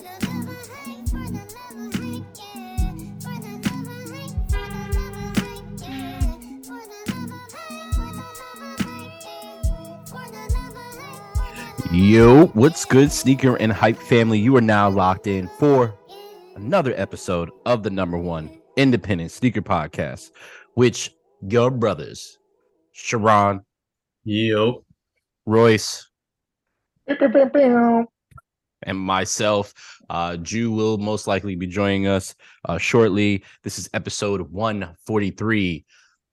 Yo, what's good, sneaker and hype family? You are now locked in for another episode of the number one independent sneaker podcast, which your brothers, Sharon, Yo, Royce, and myself, Jew, will most likely be joining us shortly. This is episode 143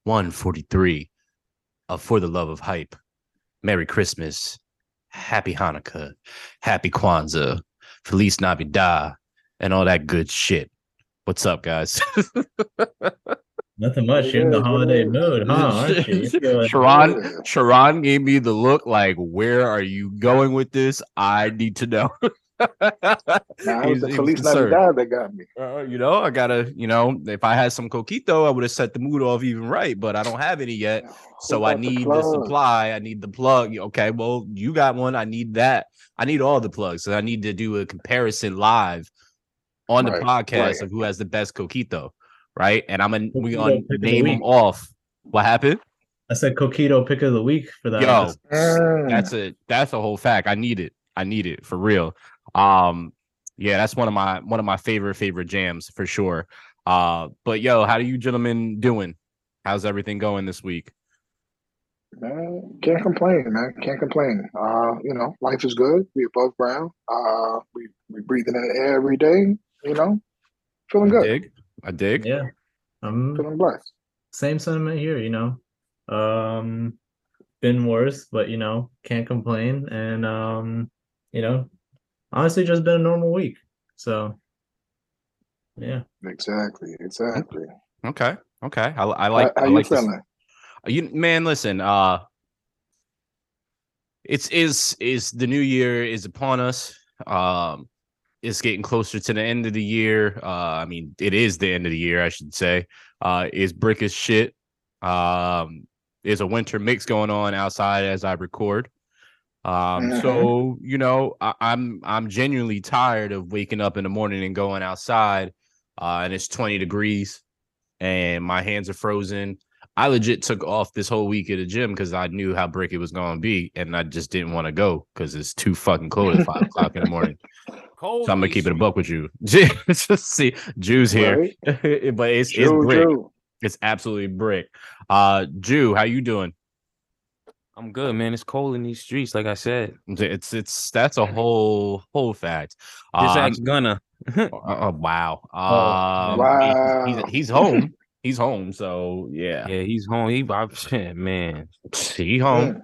of For the Love of Hype. Merry Christmas. Happy Hanukkah, Happy Kwanzaa, Feliz Navidad, and all that good shit. What's up, guys? nothing much. You're in the holiday mood, huh? Aren't you? Sharon gave me the look like, where are you going with this? I need to know. Nah, it was the Feliz Navidad that got me. I gotta, if I had some coquito, I would have set the mood off even right, but I don't have any yet. So I need the supply. I need the plug. Okay, well, you got one. I need that. I need all the plugs. So I need to do a comparison live on the podcast of who has the best coquito, right? And we're gonna name them off. What happened? I said coquito pick of the week for that. Yo, that's a whole fact. I need it for real. Yeah, that's one of my favorite jams for sure. But yo, how are you gentlemen doing? How's everything going this week? Man, can't complain, man. Can't complain. Life is good. We above ground. We breathing in the air every day. Feeling good. I dig. Yeah, I'm feeling blessed. Same sentiment here. Been worse, but can't complain. And honestly, just been a normal week. So, yeah. Exactly. Okay. I like. How you feeling? Man, listen. It's the new year is upon us. It's getting closer to the end of the year. I mean, it is the end of the year, I should say. It's brick as shit. There's a winter mix going on outside as I record. So I'm genuinely tired of waking up in the morning and going outside, and it's 20 degrees, and my hands are frozen. I legit took off this whole week at the gym because I knew how brick it was going to be, and I just didn't want to go because it's too fucking cold at 5 o'clock in the morning. So I'm gonna keep it a buck with you. Just see, Jew's here, right? But it's brick. Jew. It's absolutely brick. Jew, how you doing? I'm good, man. It's cold in these streets, like I said. That's a whole fact. Just ask Gunna. Wow. Wow. He's home. He's home. So yeah. Yeah, he's home. Man. He home.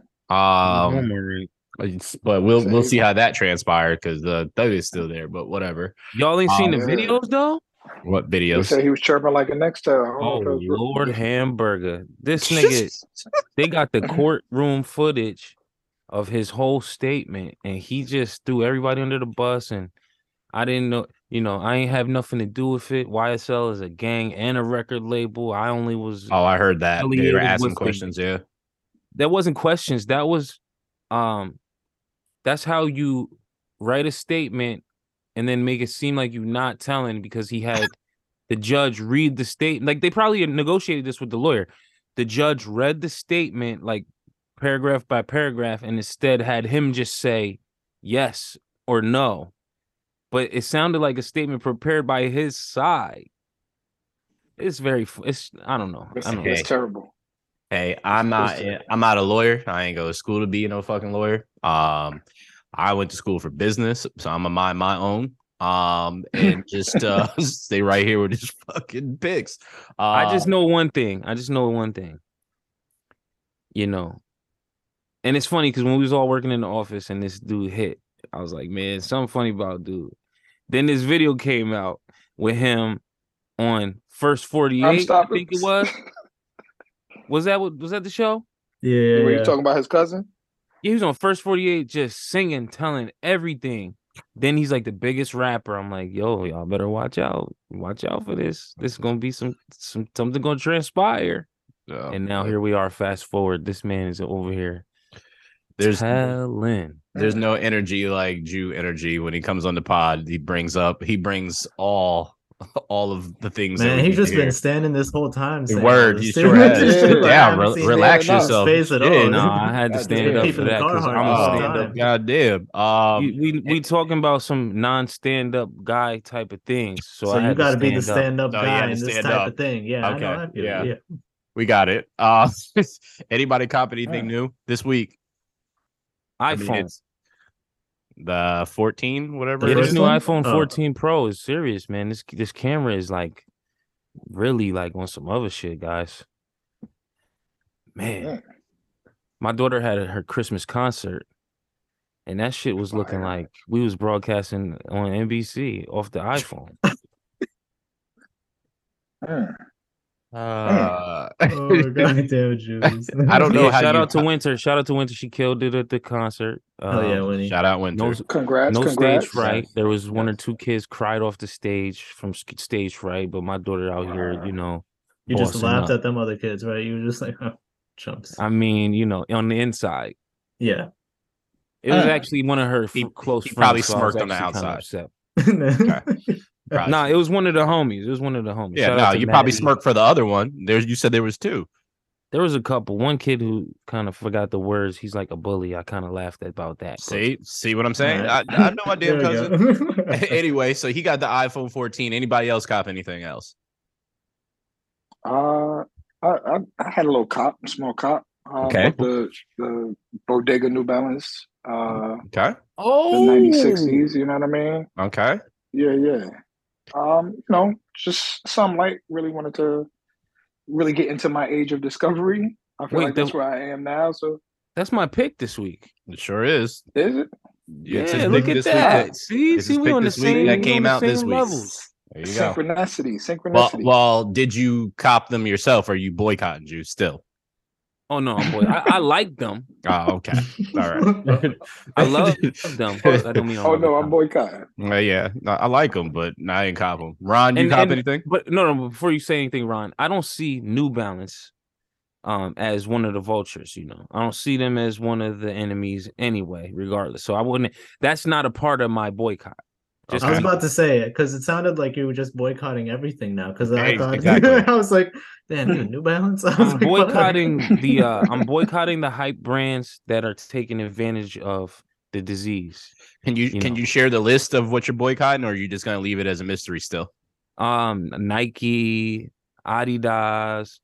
But we'll see how that transpired because the thug is still there. But whatever. Y'all ain't seen the videos though. What videos? He said he was chirping like a next time. Oh Lord, hamburger! This nigga, they got the courtroom footage of his whole statement, and he just threw everybody under the bus. And I didn't know, I ain't have nothing to do with it. YSL is a gang and a record label. I only was. Oh, I heard that. They were asking questions. Yeah, that wasn't questions. That was, that's how you write a statement and then make it seem like you're not telling, because he had the judge read the statement. Like, they probably negotiated this with the lawyer. The judge read the statement, like, paragraph by paragraph, and instead had him just say yes or no. But it sounded like a statement prepared by his side. It's I don't know. It's terrible. Hey, I'm not a lawyer. I ain't go to school to be no fucking lawyer. I went to school for business, so I'm gonna mind my own. And just stay right here with his fucking picks. I just know one thing. And it's funny because when we was all working in the office and this dude hit, I was like, man, something funny about dude. Then this video came out with him on First 48. I think it was. Was that the show? Yeah. Were you talking about his cousin? Yeah, he was on First 48 just singing, telling everything. Then he's like the biggest rapper. I'm like, yo, y'all better watch out. Watch out for this. This is gonna be something gonna transpire. And now here we are, fast forward. This man is over here There's There's no energy like Jew energy when he comes on the pod. He brings all of the things. Man, that he's just been hear. standing this whole time. The word, you sure has. Relax yourself. Face at all. No, I had to stand up for that because I'm a stand-up. Goddamn. We talking about some non-stand-up guy type of things. So you got to be the stand-up So guy in this type of thing. Yeah, okay. I know. Yeah, we got it. Anybody cop anything new this week? iPhone. The 14, whatever. Yeah, this new iPhone 14 Pro is serious, man. This camera is like really like on some other shit, guys. Man, my daughter had her Christmas concert, and that shit was looking like we was broadcasting on NBC off the iPhone. God damn, Juice. I don't know. Shout out to Winter. Shout out to Winter. She killed it at the concert. Winnie. Shout out Winter. Congrats. Stage fright. There was one or two kids cried off the stage from stage fright, but my daughter out here, you just laughed at them other kids, right? You were just like, oh, chumps. I mean, on the inside. Yeah. It was actually one of her close friends. He probably smirked on the outside. Nah, it was one of the homies. Yeah, you probably smirked for the other one. You said there was two. There was a couple. One kid who kind of forgot the words. He's like a bully. I kind of laughed about that. See what I'm saying? Right. I know my damn cousin. Anyway, so he got the iPhone 14. Anybody else cop anything else? I had a little small cop. Okay. The Bodega New Balance. Okay. The 9060s. You know what I mean? Okay. Yeah. Just some light. Really wanted to really get into my age of discovery. I feel like that's where I am now. So that's my pick this week. It sure is. Is it? Yeah, look at that. See, we on the same. That came out this week. Levels. There you go. Synchronicity. Well, did you cop them yourself? Or are you boycotting you still? Oh no, boy! I like them. Oh, okay. All right. I love them. I don't mean. I'm boycotting. Yeah, I like them, but I ain't cop them. Ron, you cop anything? But no. Before you say anything, Ron, I don't see New Balance, as one of the vultures. I don't see them as one of the enemies anyway. Regardless, so I wouldn't. That's not a part of my boycott. I was about to say it because it sounded like you were just boycotting everything now. Because I thought I was like, "Damn, New Balance." I'm boycotting I'm boycotting the hype brands that are taking advantage of the disease. Can you share the list of what you're boycotting, or are you just gonna leave it as a mystery still? Nike, Adidas,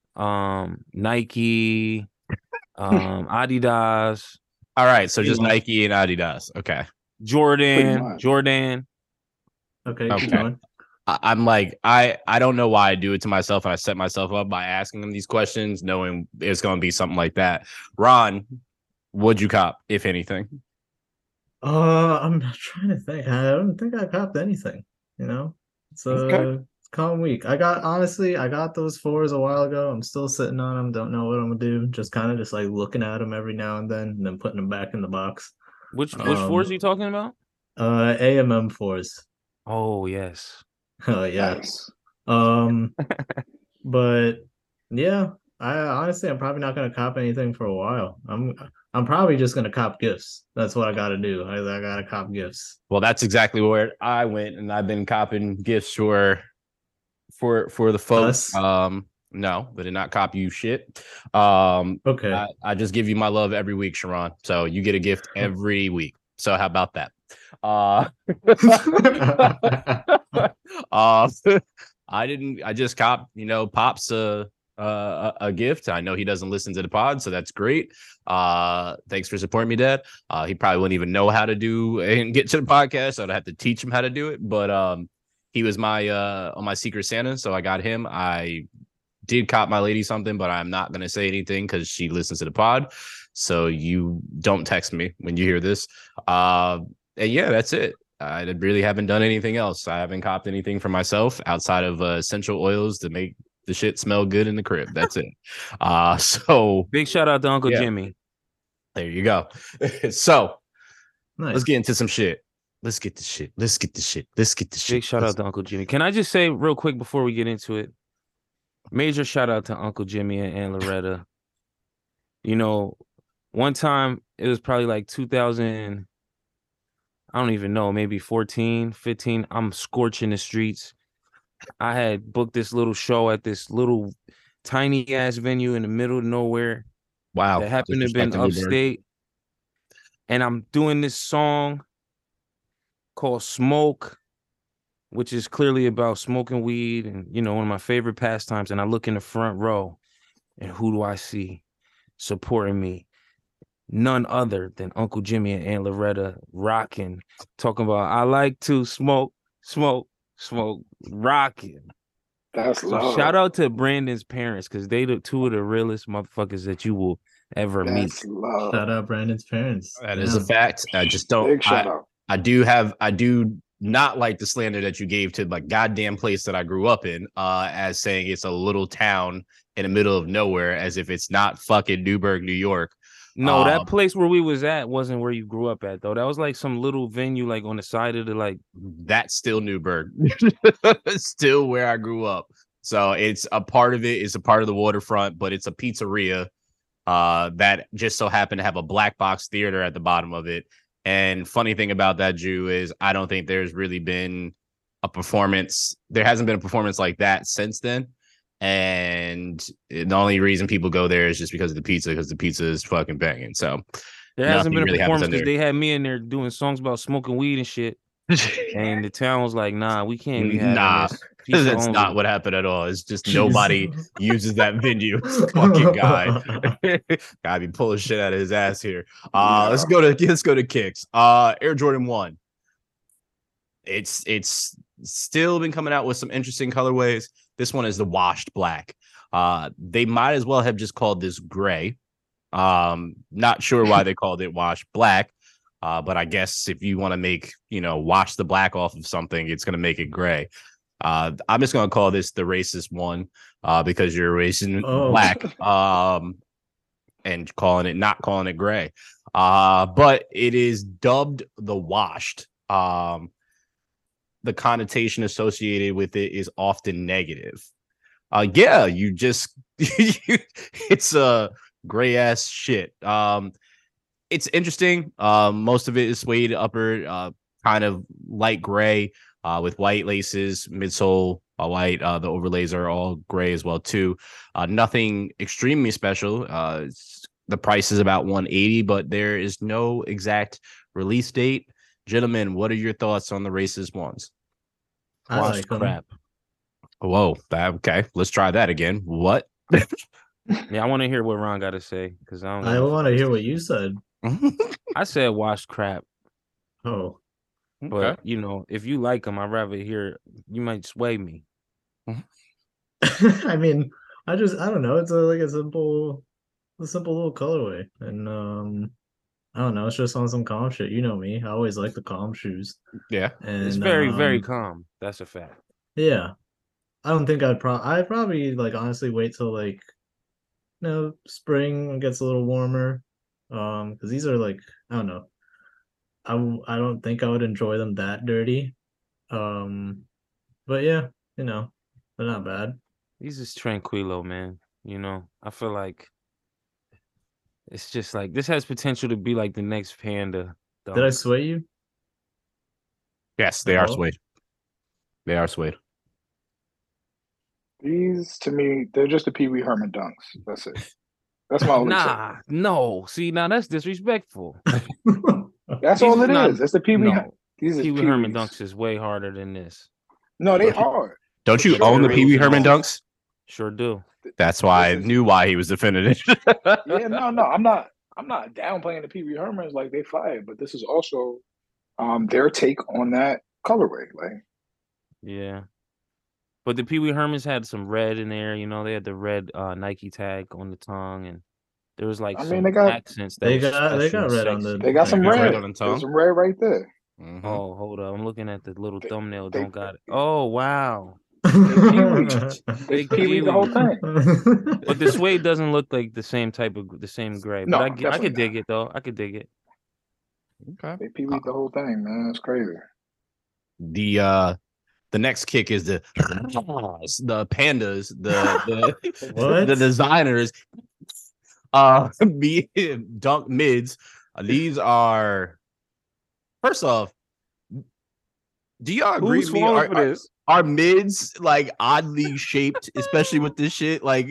Nike, Adidas. All right, so just Nike and Adidas. Okay. Jordan. Okay. Keep going. I'm like, I don't know why I do it to myself, and I set myself up by asking them these questions, knowing it's going to be something like that. Ron, what'd you cop, if anything? I'm trying to think. I don't think I copped anything. It's a calm week. I got those 4s a while ago. I'm still sitting on them. Don't know what I'm gonna do. Just kind of like looking at them every now and then putting them back in the box. Which 4s are you talking about? AMM 4s. Oh yes. Oh yes. But yeah, I'm probably not gonna cop anything for a while. I'm probably just gonna cop gifts. That's what I gotta do. I gotta cop gifts. Well, that's exactly where I went, and I've been copping gifts for the folks. Us? No, but did not cop you shit. Okay. I just give you my love every week, Sharon. So you get a gift every week. So how about that? I just copped, Pops a gift. I know he doesn't listen to the pod, so that's great. Thanks for supporting me, Dad. He probably wouldn't even know how to do and get to the podcast, so I'd have to teach him how to do it. But he was my on my Secret Santa, so I got him. I did cop my lady something, but I'm not gonna say anything because she listens to the pod. So you don't text me when you hear this. And yeah, that's it. I really haven't done anything else. I haven't copped anything for myself outside of essential oils to make the shit smell good in the crib. That's it. So big shout out to Uncle Jimmy. There you go. So nice. Let's get into some shit. Let's get the shit. Big shout out to Uncle Jimmy. Can I just say real quick before we get into it? Major shout out to Uncle Jimmy and Loretta. One time it was probably like 2000. I don't even know, maybe 14, 15. I'm scorching the streets. I had booked this little show at this little tiny ass venue in the middle of nowhere Wow. that happened to have been Disrespecting Newburgh. upstate. And I'm doing this song called Smoke, which is clearly about smoking weed and, you know, one of my favorite pastimes. And I look in the front row and who do I see supporting me? None other than Uncle Jimmy and Aunt Loretta rocking, talking about I like to smoke, rocking. That's So love. shout out to Brandon's parents because they the two of the realest motherfuckers that you will ever meet. That's love. Shout out Brandon's parents. That is a fact. I just don't. Big shout out. I do not like the slander that you gave to like goddamn place that I grew up in, as saying it's a little town in the middle of nowhere, as if it's not fucking Newburgh, New York. No, that place where we was at wasn't where you grew up at though. That was like some little venue like on the side of the like. That's still Newburgh. Still where I grew up. So it's a part of it. It's a part of the waterfront, but it's a pizzeria that just so happened to have a black box theater at the bottom of it. And funny thing about that, Jew, is I don't think there's really been a performance. There hasn't been a performance like that since then. And the only reason people go there is just because of the pizza is fucking banging. So there hasn't been a really performance because they had me in there doing songs about smoking weed and shit. And the town was like, nah, we can't be having this. Pizza That's only. not what happened at all. It's just nobody uses that venue. Fucking guy. Gotta be pulling shit out of his ass here. Let's go to kicks. Air Jordan 1. It's still been coming out with some interesting colorways. This one is the washed black. They might as well have just called this gray. Not sure why they called it washed black. But I guess if you want to make, wash the black off of something, it's going to make it gray. I'm just going to call this the racist one because you're racing black and not calling it gray. But it is dubbed the washed. The connotation associated with it is often negative. You just it's a gray ass shit. It's interesting. Most of it is suede upper, kind of light gray, with white laces, midsole white. The overlays are all gray as well too. Nothing extremely special. The price is about $180, but there is no exact release date. Gentlemen, what are your thoughts on the racist ones? I like crap. Whoa. Okay. Let's try that again. What? Yeah, I want to hear what Ron got to say because I want to hear what you said. I said washed crap. Oh. But, if you like them, I'd rather hear, you might sway me. I mean, I don't know. It's a simple little colorway. And, I don't know. It's just on some calm shit. You know me. I always like the calm shoes. Yeah. And it's very, very calm. That's a fact. Yeah. I don't think I'd probably like honestly wait till like, spring gets a little warmer. Because these are like, I don't know. I don't think I would enjoy them that dirty. But yeah, they're not bad. These is tranquilo, man. I feel like it's just like this has potential to be like the next Panda. Did I sway you? Yes, they are suede. They are suede. These, to me, they're just the Pee Wee Herman dunks. That's it. That's my only take. No. See, now that's disrespectful. That's all it is. That's the Pee Wee. No. Pee Wee Herman dunks is way harder than this. No, they hard. Don't you own the Pee Wee Herman dunks? Sure do. That's why I knew why he was defending it. Yeah, no, I'm not downplaying the Pee Wee Hermans, like they fired, but this is also their take on that colorway. Like, yeah. But the Pee Wee Hermans had some red in there, they had the red Nike tag on the tongue, and there was like they got accents. They got red on the. They got some red on the tongue. There's some red right there. Mm-hmm. Oh, hold up! I'm looking at the little thumbnail. Don't got it. Oh wow. They Pee Wee the whole thing. But the suede doesn't look like the same gray. No, but I could dig it though. I could dig it. Okay. They Pee Wee the whole thing, man. It's crazy. The next kick is the pandas, what? the designers, dunk mids These are first off. Do y'all agree Who's with me? falling for this? Are mids like oddly shaped, especially with this shit? Like,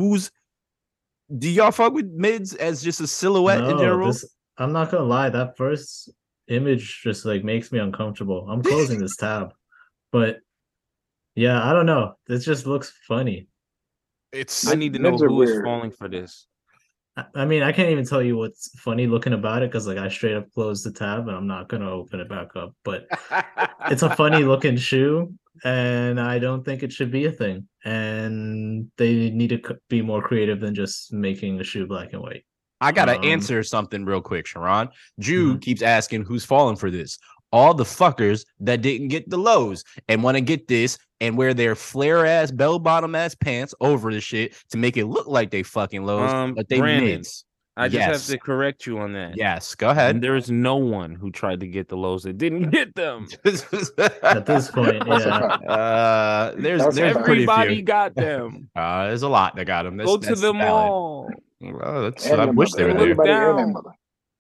do y'all fuck with mids as just a silhouette in No, general? I'm not gonna lie, that first image just like makes me uncomfortable. I'm closing this tab. But yeah, I don't know. This just looks funny. It's I need to know Mids are who is weird. falling for this. I mean, I can't even tell you what's funny looking about it because like I straight up closed the tab and I'm not gonna open it back up. But it's a funny looking shoe, and I don't think it should be a thing. And they need to be more creative than just making the shoe black and white. I gotta answer something real quick, Sharon. Jude Mhm. keeps asking who's falling for this. All the fuckers that didn't get the lows and want to get this and wear their flare ass bell bottom ass pants over the shit to make it look like they fucking lows, but they Brandon, mids. I just have Yes. to correct you on that. Yes, go ahead. There's no one who tried to get the lows that didn't get them. At this point, That's a yeah. fact. There's That's a fact. pretty Everybody few. got them. There's a lot that got them. Go to the mall. Well, And I their wish mother. they were there. Everybody and their Down. mother.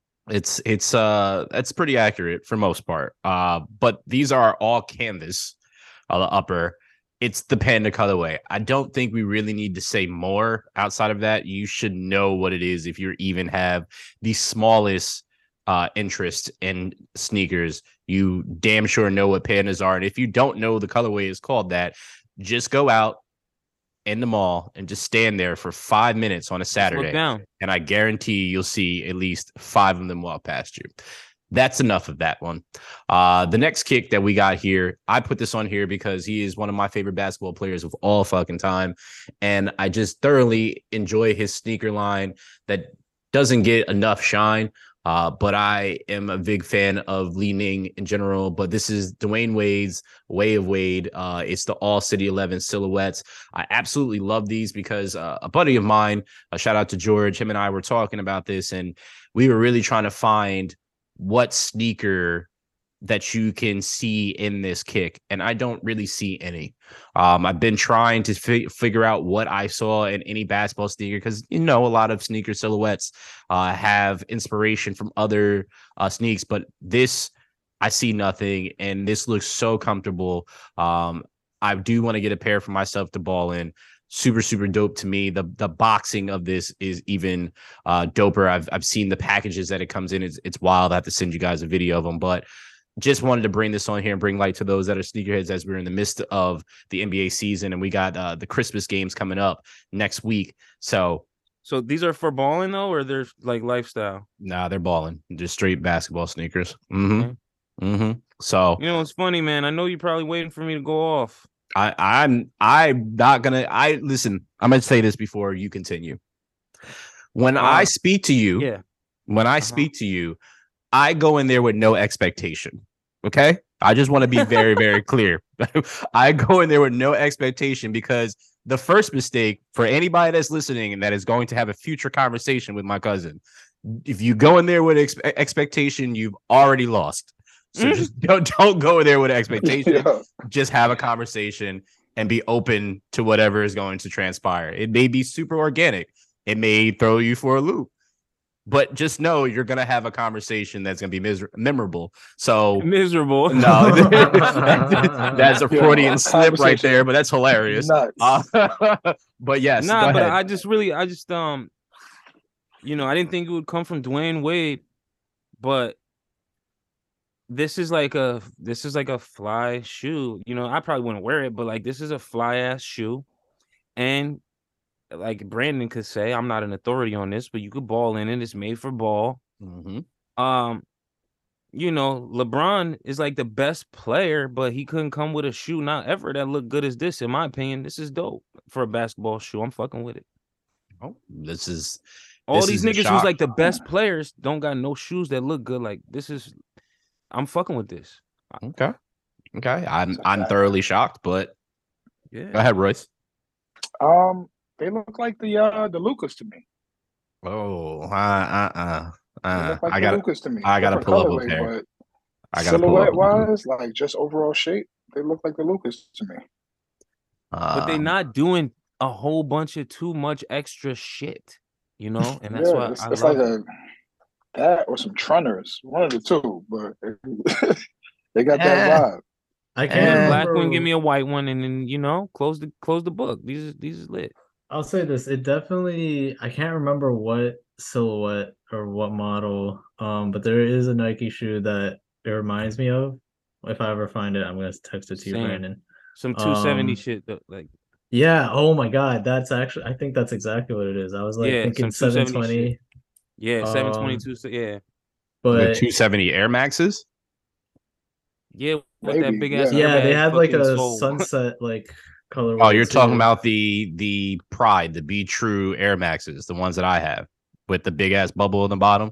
It's pretty accurate for most part. But these are all canvas on the upper. It's the panda colorway. I don't think we really need to say more outside of that. You should know what it is if you even have the smallest interest in sneakers. You damn sure know what pandas are. And if you don't know the colorway is called that, just go out in the mall and just stand there for 5 minutes on a Saturday. Look down. And I guarantee you'll see at least 5 of them walk past you. That's enough of that one. The next kick that we got here, I put this on here because he is one of my favorite basketball players of all fucking time. And I just thoroughly enjoy his sneaker line that doesn't get enough shine. But I am a big fan of Li Ning in general. But this is Dwayne Wade's Way of Wade. It's the All City 11 silhouettes. I absolutely love these because a buddy of mine, a shout out to George, him and I were talking about this, and we were really trying to find what sneaker that you can see in this kick, and I don't really see any. I've been trying to figure out what I saw in any basketball sneaker because a lot of sneaker silhouettes have inspiration from other sneaks, but this I see nothing, and this looks so comfortable. I do want to get a pair for myself to ball in. Super, super dope to me. The boxing of this is even doper. I've seen the packages that it comes in. It's wild. I have to send you guys a video of them, but just wanted to bring this on here and bring light to those that are sneakerheads as we're in the midst of the NBA season, and we got the Christmas games coming up next week. So these are for balling though, or they're like lifestyle? Nah, they're balling. Just straight basketball sneakers. So it's funny, man. I know you're probably waiting for me to go off. I'm not gonna. Listen. I'm gonna say this before you continue. When I speak to you, speak to you, I go in there with no expectation. Okay, I just want to be very, very clear. I go in there with no expectation because the first mistake for anybody that's listening and that is going to have a future conversation with my cousin, if you go in there with expectation, you've already lost. So just don't go there with expectation. Yeah. Just have a conversation and be open to whatever is going to transpire. It may be super organic. It may throw you for a loop. But just know you're going to have a conversation that's going to be memorable. So miserable. No, that's a Freudian slip right there, but that's hilarious. But yes. Nah, but I just I didn't think it would come from Dwayne Wade, but this is like a fly shoe. I probably wouldn't wear it, but like this is a fly ass shoe. And like Brandon could say, I'm not an authority on this, but you could ball in it. It's made for ball. LeBron is like the best player, but he couldn't come with a shoe not ever that looked good as this. In my opinion, this is dope for a basketball shoe. I'm fucking with it. Oh, this is all these niggas who's like the best players don't got no shoes that look good. Like this is, I'm fucking with this. Okay. I'm thoroughly shocked, but yeah. Go ahead, Royce. They look like the Lucas to me. Oh, Like I got Lucas to me. I gotta pull up a pair. Silhouette wise, like just overall shape, they look like the Lucas to me. But they're not doing a whole bunch of too much extra shit, and that's why it's like That or some Trunners, one of the two, but they got that Eh, vibe. I Give me can't a eh. black one, give remember. me a white one, and then close the book. These is lit. I'll say this. It definitely. I can't remember what silhouette or what model. But there is a Nike shoe that it reminds me of. If I ever find it, I'm gonna text it to you, Same. Brandon. Some 270 Um, shit though, like yeah. Oh my God, that's actually. I think that's exactly what it is. I was like yeah, thinking some 270 shit. 720. Yeah, Um, 722. Yeah, The but 270 Air Maxes. yeah, with that Maybe, big ass yeah. yeah, they airbag had like fucking a soul. sunset like Oh, colorway you're talking too. about the Pride, the Be True Air Maxes, the ones that I have with the big ass bubble in the bottom.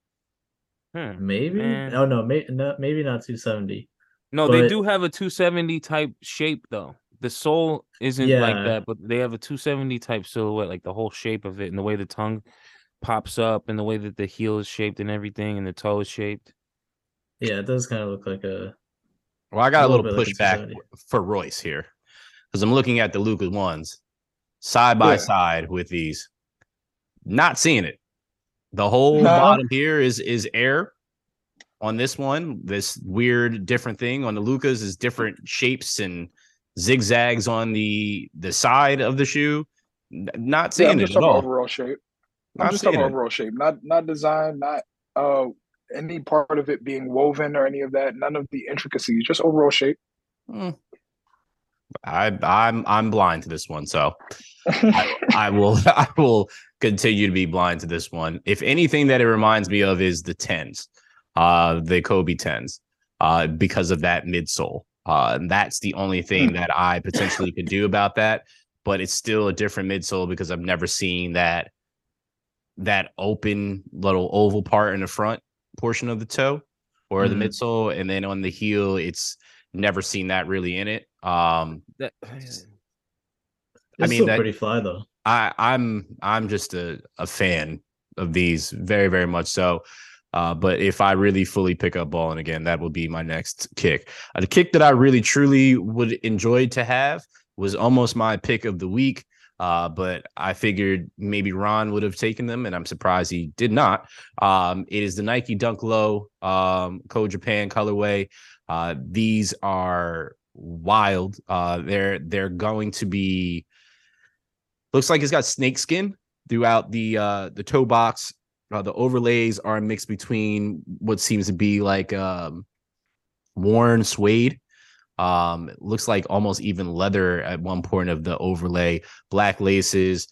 Maybe. Man. Oh no, maybe not 270. No, they But do have a 270 type shape though. The sole isn't like yeah, that, but they have a 270 type silhouette, like the whole shape of it and the way the tongue pops up and the way that the heel is shaped and everything and the toe is shaped. yeah, it does kind of look like Well, I a got a little little bit like a pushback 270. for Royce here because I'm looking at the Lucas ones side by Yeah. side with these. Not seeing it. The whole Nah. bottom here is air on this one. This weird different thing on the Lucas is different shapes and zigzags on the side of the shoe. Not Yeah, seeing I'm it just at talking all. overall shape. I'm Not just talking seeing it. overall shape, not design, not uh any part of it being woven or any of that. None of the intricacies, just overall shape. Hmm. I'm blind to this one, so I will I will continue to be blind to this one. If anything that it reminds me of is the tens, the Kobe tens, because of that midsole. And that's the only thing that I potentially could do about that. But it's still a different midsole because I've never seen that open little oval part in the front portion of the toe or the Mm. midsole, and then on the heel, it's never seen that really in it. That I It's mean still that pretty fly though. I'm just a fan of these very, very much so. But if I really fully pick up balling again, that will be my next kick. The kick that I really truly would enjoy to have was almost my pick of the week. But I figured maybe Ron would have taken them, and I'm surprised he did not. It is the Nike Dunk Low Code Japan colorway. These are wild. They're going to be. Looks like it's got snake skin throughout the toe box. The overlays are mixed between what seems to be like worn suede. It looks like almost even leather at one point of the overlay. Black laces.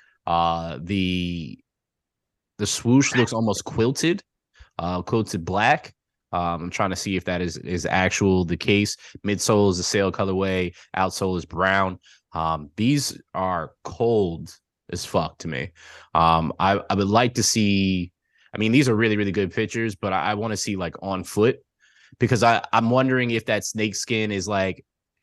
The swoosh looks almost quilted black. I'm trying to see if that is actual the case. Midsole is a sail colorway. Outsole is brown. These are cold as fuck to me. I would like to see. I mean, these are really really good pictures, but I want to see like on foot because I'm wondering if that snake skin is like.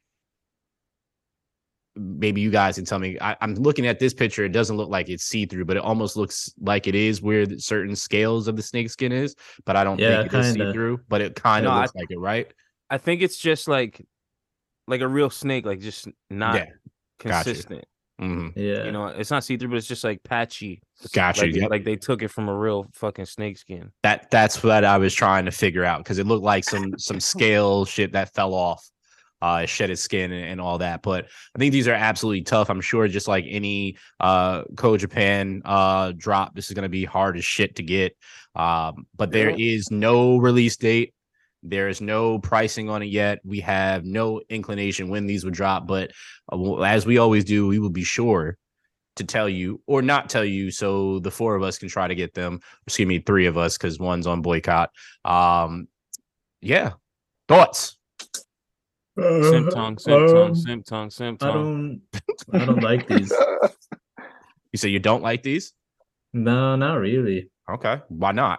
Maybe you guys can tell me. I'm looking at this picture. It doesn't look like it's see through, but it almost looks like it is where certain scales of the snake skin is. But I don't think Yeah, it is kind see of. through. But it kind no, of Yeah. looks like it, right? I think it's just like a real snake, like just not Yeah, got you. consistent. Mm-hmm. Yeah. It's not see through, but it's just like patchy. Got you. Yep. Like they took it from a real fucking snake skin. That's what I was trying to figure out because it looked like some scale shit that fell off, shed its skin and all that. But I think these are absolutely tough. I'm sure just like any Code Japan drop, this is gonna be hard as shit to get. But there Yeah. is no release date. There is no pricing on it yet. We have no inclination when these would drop, but as we always do, we will be sure to tell you or not tell you so the four of us can try to get them. Excuse me, three of us because one's on boycott. Yeah. Thoughts? Simp tongue, simp tongue, simp tongue, simp I tongue. don't like these. You say you don't like these? No, not really. Okay. Why not?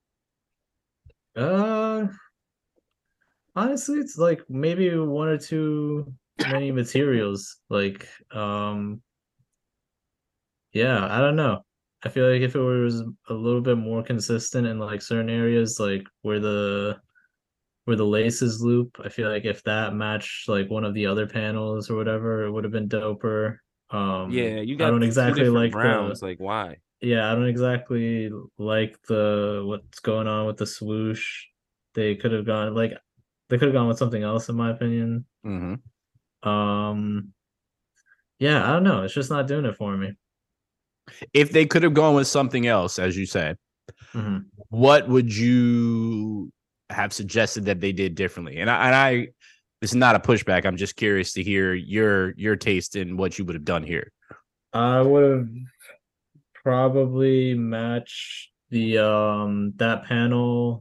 Uh, Honestly, it's like maybe one or two many materials. Like, yeah, I don't know. I feel like if it was a little bit more consistent in like certain areas, like where the laces loop, I feel like if that matched like one of the other panels or whatever, it would have been doper. Yeah, you I got don't two exactly different like the browns. Like why? Yeah, I don't exactly like the what's going on with the swoosh. They could have gone like they could have gone with something else in my opinion. Mm-hmm. Um yeah, I don't know. It's just not doing it for me. If they could have gone with something else, as you said, Hmm. what would you have suggested that they did differently? And I this is not a pushback. I'm just curious to hear your taste in what you would have done here. I would have probably matched the that panel.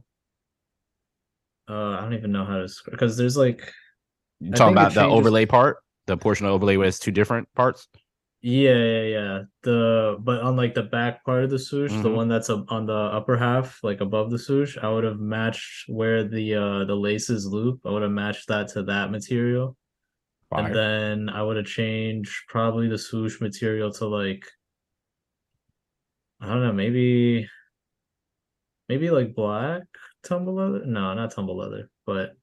I don't even know how to describe because there's like You I talking think it about the changes. overlay part, the portion of overlay where it's two different parts? Yeah. The but on like the back part of the swoosh, the Mm-hmm. one that's up on the upper half, like above the swoosh, I would have matched where the laces loop. I would have matched that to that material. And Fire. then I would have changed probably the swoosh material to like I don't know, maybe like black tumble leather. No, not tumble leather, but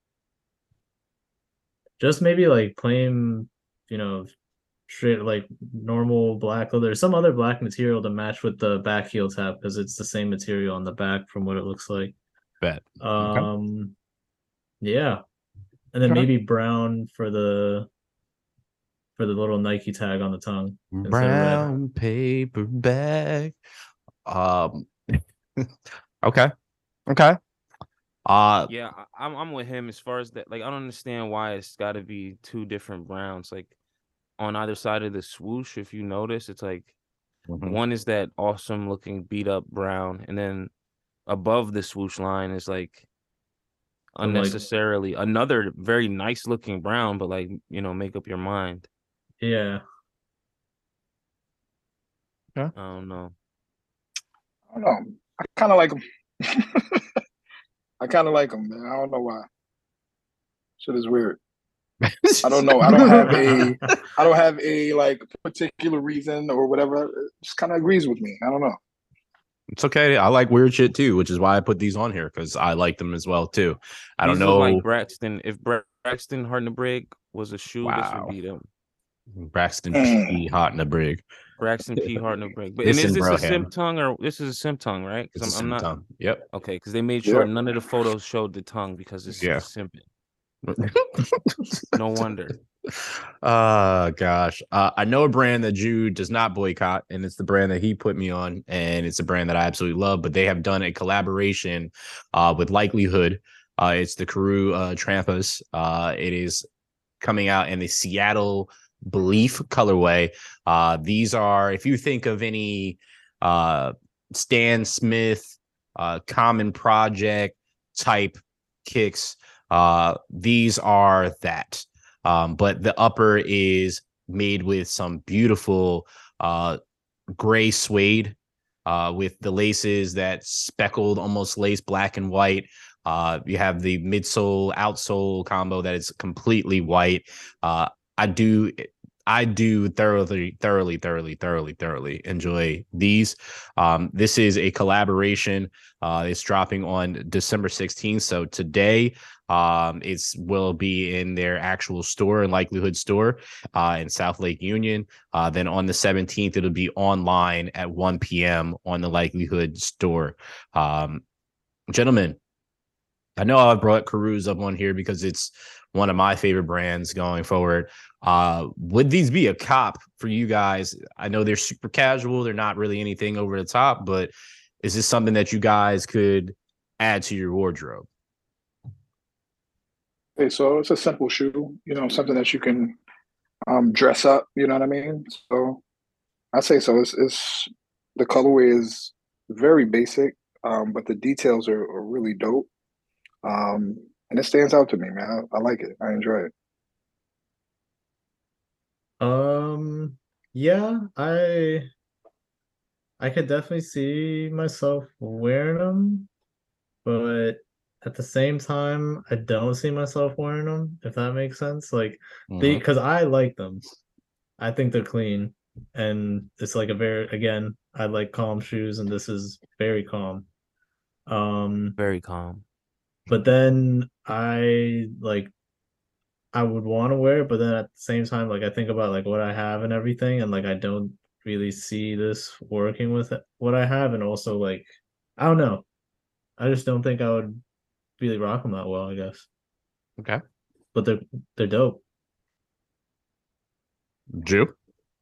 just maybe like plain, you know, straight like normal black leather, some other black material to match with the back heel tab because it's the same material on the back from what it looks like. Bet. Okay. Um, yeah, and then Okay. maybe brown for the little Nike tag on the tongue instead of red. Brown paper bag. Um. Okay. Okay. Yeah, I'm with him as far as that. Like, I don't understand why it's got to be two different browns. Like on either side of the swoosh, if you notice, it's like mhm. one is that awesome looking beat up brown, and then above the swoosh line is like Some like unnecessarily another very nice looking brown, but like make up your mind. yeah. Yeah. I don't know. I don't know. I kind of like them. I kind of like them, man. I don't know why. Shit is weird. I don't know. I don't have a like particular reason or whatever. It just kind of agrees with me. I don't know. It's okay. I like weird shit too, which is why I put these on here because I like them as well too. I don't These look like know. Braxton. If Braxton Hardenberg was a shoe, this would Wow. be them. Braxton Mm. P. Hot in the brig. Braxton P. Hardenberg. But and is Listen, this a Broham. simp tongue or this is a simp tongue, right? It's a Because I'm not symptom. Yep. okay. Because they made sure Yeah. none of the photos showed the tongue because it's Yeah. simping. No wonder. Gosh. I know a brand that Jude does not boycott, and it's the brand that he put me on, and it's a brand that I absolutely love. But they have done a collaboration with Likelihood. It's the Karoo Trampas. It is coming out in the Seattle Belief colorway. These are, if you think of any Stan Smith, Common Project type kicks, these are that. But the upper is made with some beautiful gray suede with the laces that speckled, almost lace black and white. You have the midsole outsole combo that is completely white. Uh, I do I do thoroughly enjoy these. This is a collaboration. It's dropping on December 16th. So today, it's will be in their actual store and Likelihood store in South Lake Union. Then on the 17th, it'll be online at 1 p.m. on the Likelihood store. Gentlemen, I know I brought Caruso up on here because it's one of my favorite brands going forward. Would these be a cop for you guys? I know they're super casual. They're not really anything over the top, but is this something that you guys could add to your wardrobe? Okay, so it's a simple shoe, something that you can dress up. You know what I mean? So I say so. It's the colorway is very basic, but the details are really dope. And it stands out to me, man. I like it. I enjoy it. Yeah, I could definitely see myself wearing them, but at the same time, I don't see myself wearing them, if that makes sense. Like they, Mm-hmm. because I like them. I think they're clean, and it's like a very, again, I like calm shoes, and this is very calm. Um, Very calm. but then I would want to wear it, but then at the same time, like I think about like what I have and everything, and like I don't really see this working with what I have, and also like I don't know. I just don't think I would really rock them that well, I guess. Okay. But they're dope. Jew.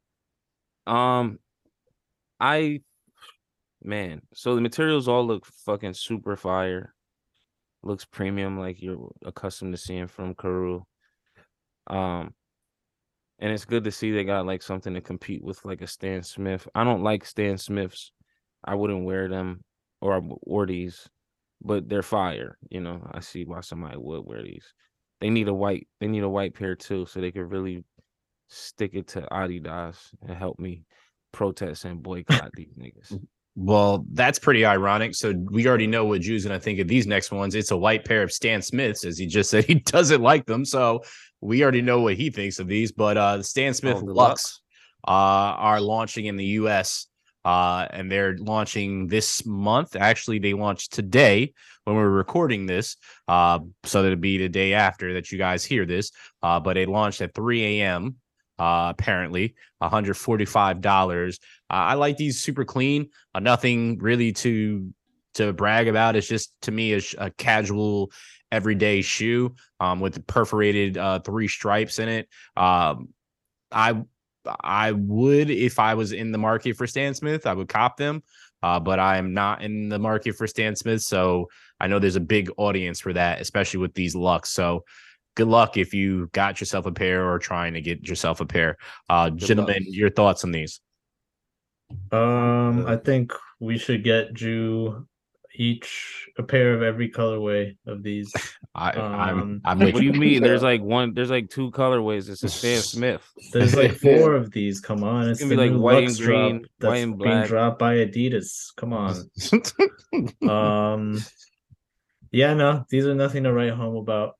I man, so the materials all look fucking super fire. Looks premium like you're accustomed to seeing from Karoo. Um, and it's good to see they got like something to compete with like a Stan Smith. I don't like Stan Smiths. I wouldn't wear them or these, but they're fire. You know, I see why somebody would wear these. They need a white pair too, so they could really stick it to Adidas and help me protest and boycott these niggas. Well, that's pretty ironic. So we already know what Drew's gonna think of these next ones. It's a white pair of Stan Smiths, as he just said he doesn't like them. So we already know what he thinks of these. But the Stan Smith Lux are launching in the US. And they're launching this month. Actually, they launched today when we're recording this. So that'll be the day after that you guys hear this. But it launched at 3 a.m. Apparently, $145. I like these super clean. Nothing really to brag about. It's just to me a casual everyday shoe with the perforated 3 stripes in it. I would, if I was in the market for Stan Smith, I would cop them. But I am not in the market for Stan Smith, so I know there's a big audience for that, especially with these Lux. So good luck if you got yourself a pair or trying to get yourself a pair. Gentlemen, your thoughts on these? I think we should get Drew each a pair of every colorway of these. I'm what do you mean? There's like 2 colorways. It's a Stan Smith. There's like 4 of these. Come on, it's gonna the be like new white Lux and green, drop that's white and being black. dropped by Adidas. Come on. Yeah, no, these are nothing to write home about.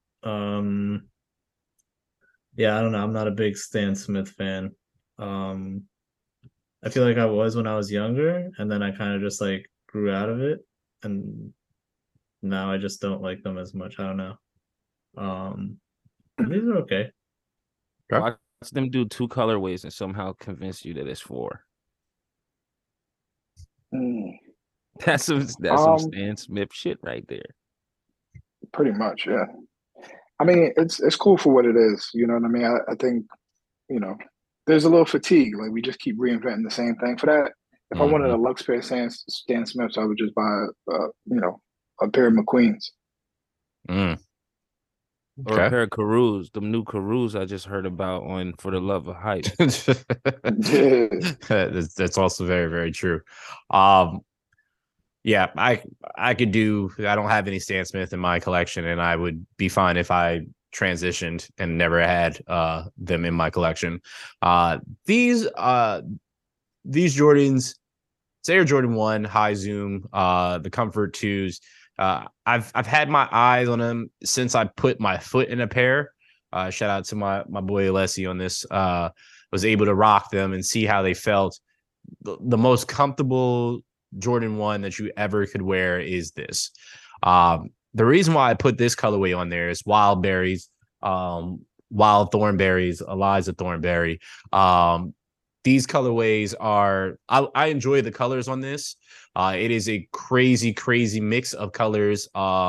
Yeah, I don't know. I'm not a big Stan Smith fan. I feel like I was when I was younger, and then I kind of just like grew out of it, and now I just don't like them as much. I don't know. These are okay. Watch them do 2 colorways and somehow convince you that it's 4. That's some Stan Smith shit right there. Pretty much, yeah. I mean, it's cool for what it is. You know what I mean? I think, you know, there's a little fatigue. Like we just keep reinventing the same thing. For that, if I wanted a Lux pair of Stan Smiths, I would just buy, a pair of McQueens. Okay. Or a pair of Karoos. The new Karoos I just heard about on For the Love of Hype. That's also very, very true. Yeah, I could do. I don't have any Stan Smith in my collection, and I would be fine if I transitioned and never had them in my collection. These Jordans, Air Jordan 1 High Zoom, the Comfort 2s. I've had my eyes on them since I put my foot in a pair. Shout out to my boy Alessi on this. Was able to rock them and see how they felt. The most comfortable Jordan 1 that you ever could wear is this. The reason why I put this colorway on there is Wild Berries, Wild Thornberries, Eliza Thornberry. These colorways are, I enjoy the colors on this. It is a crazy, crazy mix of colors.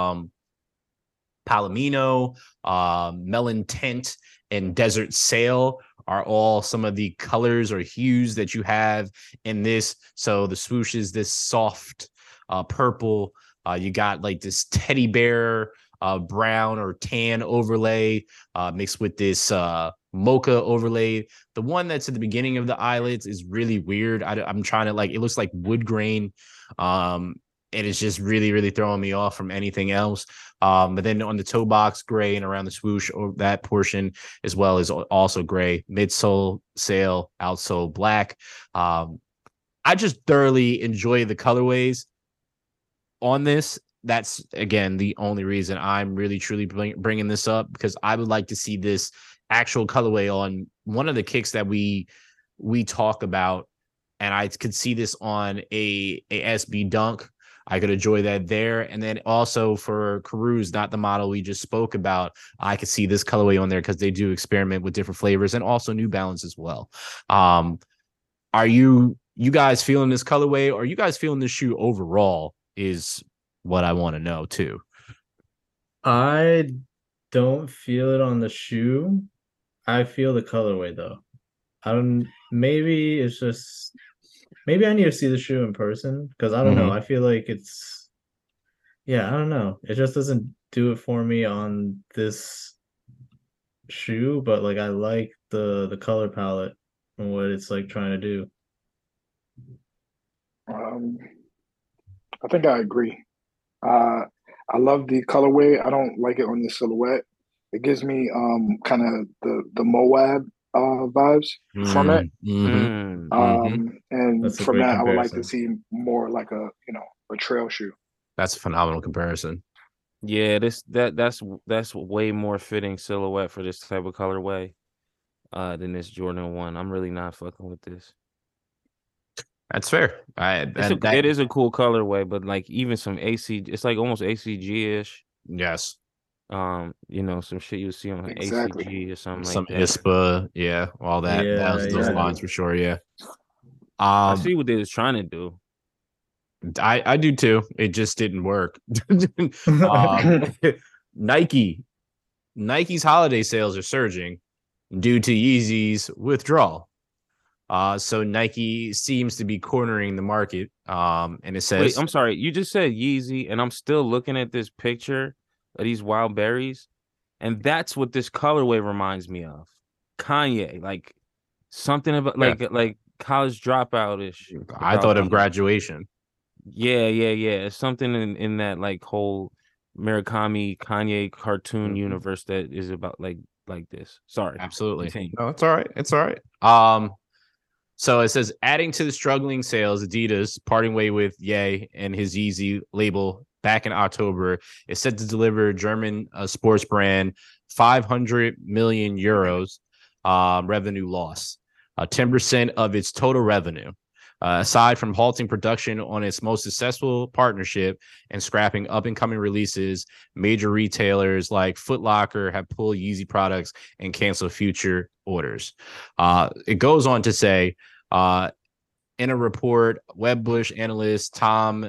Palomino, Melon Tint, and Desert Sail are all some of the colors or hues that you have in this. So the swoosh is this soft purple. You got like this teddy bear brown or tan overlay mixed with this mocha overlay. The one that's at the beginning of the eyelids is really weird. I'm trying to it looks like wood grain. And it's just really, really throwing me off from anything else. But then on the toe box, gray, and around the swoosh, or that portion as well is also gray. Midsole sail, outsole black. I just thoroughly enjoy the colorways on this. That's, again, the only reason I'm really, truly bringing this up, because I would like to see this actual colorway on one of the kicks that we talk about. And I could see this on a SB Dunk. I could enjoy that there. And then also for Karoos, not the model we just spoke about, I could see this colorway on there because they do experiment with different flavors, and also New Balance as well. Are you guys feeling this colorway? Or are you guys feeling this shoe overall? Is what I want to know too. I don't feel it on the shoe. I feel the colorway though. I don't. Maybe it's just. Maybe I need to see the shoe in person because I don't know. I feel like it's. Yeah, I don't know. It just doesn't do it for me on this shoe, but like I like the color palette and what it's like trying to do. I think I agree. I love the colorway. I don't like it on the silhouette. It gives me kind of the Moab vibes from it. And That's a from great that, I would like to comparison. see more like a trail shoe. That's a phenomenal comparison. Yeah, that's way more fitting silhouette for this type of colorway than this Jordan 1. I'm really not fucking with this. That's fair. It is a cool colorway, but like even some AC, it's like almost ACG-ish. Yes. Some shit you see on Exactly. ACG or something Some like that. ISPA, yeah, all that. Yeah, those lines for sure. Yeah. I see what they was trying to do. I do too. It just didn't work. Nike's holiday sales are surging due to Yeezy's withdrawal. So Nike seems to be cornering the market. And it says, wait, I'm sorry, you just said Yeezy, and I'm still looking at this picture of these wild berries, and that's what this colorway reminds me of. Kanye, like something about like college dropout-ish. I thought of graduation. Yeah. It's something in that like whole Murakami Kanye cartoon universe that is about like this. Sorry. Absolutely. Continue. No, it's all right. It's all right. So it says, adding to the struggling sales, Adidas parting way with Ye and his Yeezy label back in October is set to deliver German sports brand 500 million euros revenue loss, 10% of its total revenue. Aside from halting production on its most successful partnership and scrapping up-and-coming releases, major retailers like Foot Locker have pulled Yeezy products and canceled future orders. It goes on to say, in a report, Wedbush analyst Tom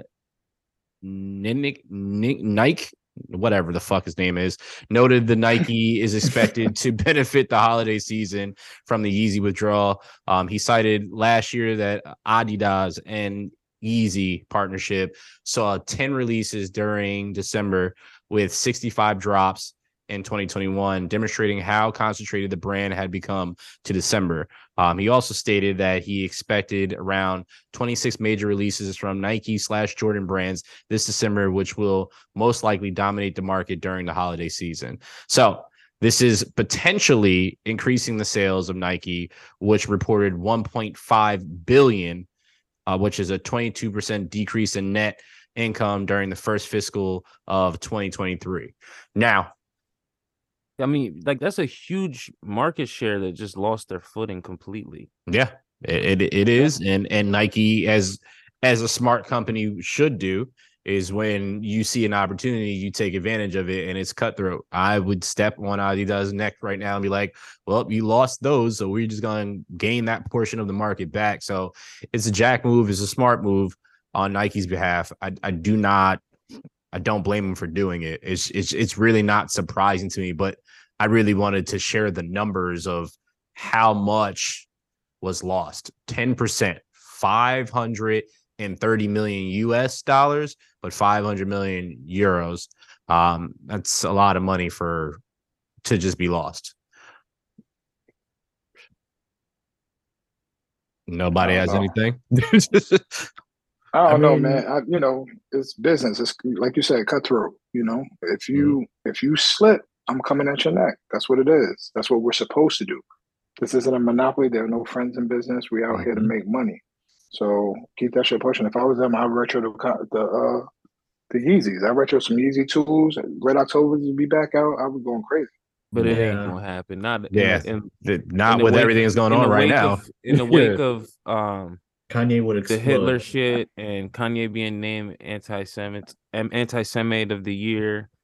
Nike, whatever the fuck his name is, noted the Nike is expected to benefit the holiday season from the Yeezy withdrawal. He cited last year that Adidas and Yeezy partnership saw 10 releases during December with 65 drops in 2021, demonstrating how concentrated the brand had become to December. He also stated that he expected around 26 major releases from Nike/Jordan brands this December, which will most likely dominate the market during the holiday season. So this is potentially increasing the sales of Nike, which reported 1.5 billion, which is a 22% decrease in net income during the first fiscal of 2023. Now, I mean, like that's a huge market share that just lost their footing completely. Yeah, it is, and Nike, as a smart company should do, is when you see an opportunity, you take advantage of it, and it's cutthroat. I would step on Adidas' neck right now and be like, "Well, you lost those, so we're just going to gain that portion of the market back." So it's a jack move, it's a smart move on Nike's behalf. I don't blame them for doing it. It's really not surprising to me, but I really wanted to share the numbers of how much was lost. 10%, 530 million US dollars, but 500 million euros. That's a lot of money to just be lost. Nobody has anything. I don't know, man. It's business. It's like you said, cutthroat. If you slip, I'm coming at your neck. That's what it is. That's what we're supposed to do. This isn't a monopoly. There are no friends in business. We out here to make money. So keep that shit pushing. If I was them, I'd retro the Yeezys. I retro some Yeezy tools. Red October would be back out. I was going crazy. But it ain't gonna happen. Not with everything that's going on right now. In the wake of Kanye would explode. The Hitler shit and Kanye being named anti-Semite of the year.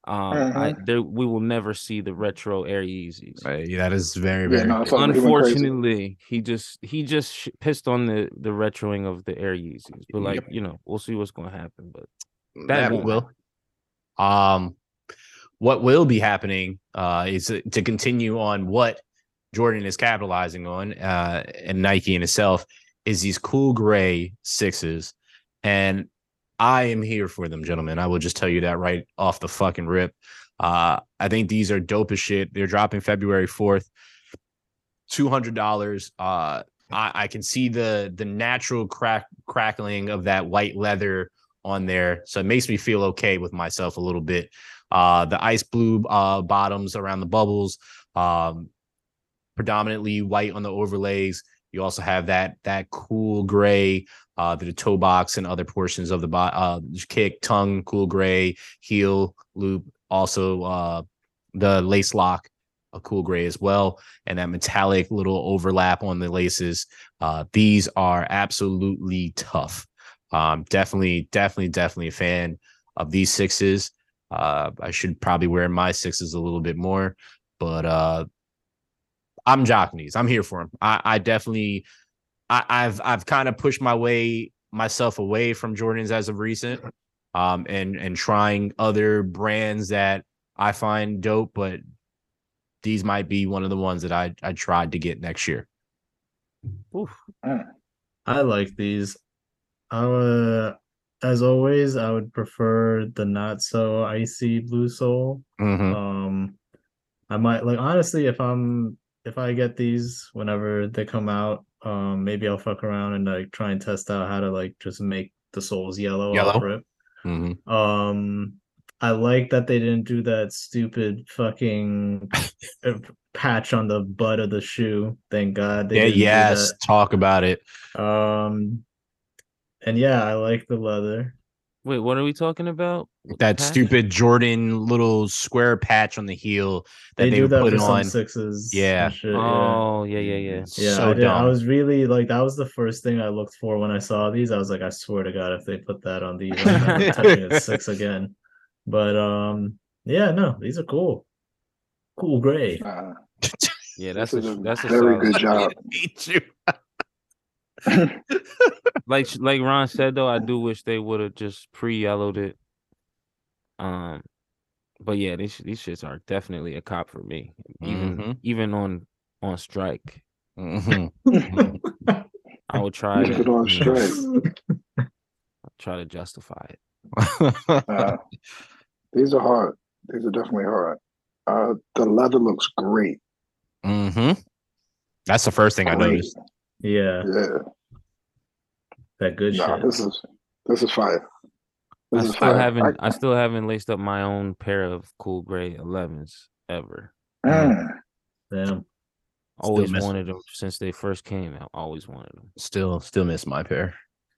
We will never see the retro Air Yeezys. That is very, Yeah, very no, I good. felt like he went crazy. Unfortunately, he just pissed on the retroing of the Air Yeezys. But like, Yep. we'll see what's gonna happen. But that won't will. happen. What will be happening is to continue on what Jordan is capitalizing on, and Nike in itself, is these cool gray sixes. And I am here for them, gentlemen. I will just tell you that right off the fucking rip. I think these are dope as shit. They're dropping February 4th. $200. I can see the natural crackling of that white leather on there. So it makes me feel okay with myself a little bit. The ice blue bottoms around the bubbles, predominantly white on the overlays. You also have that cool gray, the toe box and other portions of the kick, tongue, cool gray, heel loop, also the lace lock, a cool gray as well, and that metallic little overlap on the laces. These are absolutely tough. Definitely a fan of these sixes. I should probably wear my sixes a little bit more, but I'm jocking these. I'm here for them. I definitely, I've kind of pushed myself away from Jordans as of recent, and trying other brands that I find dope, but these might be one of the ones that I tried to get next year. Oof. I like these. As always, I would prefer the not so icy blue sole. Mm-hmm. I might like, honestly, if I get these whenever they come out, maybe I'll fuck around and like try and test out how to like just make the soles yellow off rip. Mm-hmm. I like that they didn't do that stupid fucking patch on the butt of the shoe. Thank God they didn't do that. Talk about it. And yeah, I like the leather. Wait, what are we talking about? That stupid Jordan little square patch on the heel that they do that put for on some sixes. Yeah. Shit, oh, yeah. Yeah, so I was really like, that was the first thing I looked for when I saw these. I was like, I swear to God, if they put that on these, I'm not touching a six again. But yeah, no, these are cool. Cool gray. Yeah, that's a very good job. like Ron said though, I do wish they would have just pre-yellowed it. But yeah, these shits are definitely a cop for me. Even on strike. Mm-hmm. I would try to on strike. Try to justify it. These are hard. These are definitely hard. The leather looks great. Mm-hmm. That's the first thing I noticed. Yeah. That good shit. This is fire. I still haven't laced up my own pair of cool gray 11s ever. Damn. Always wanted them since they first came out. Always wanted them. Still miss my pair.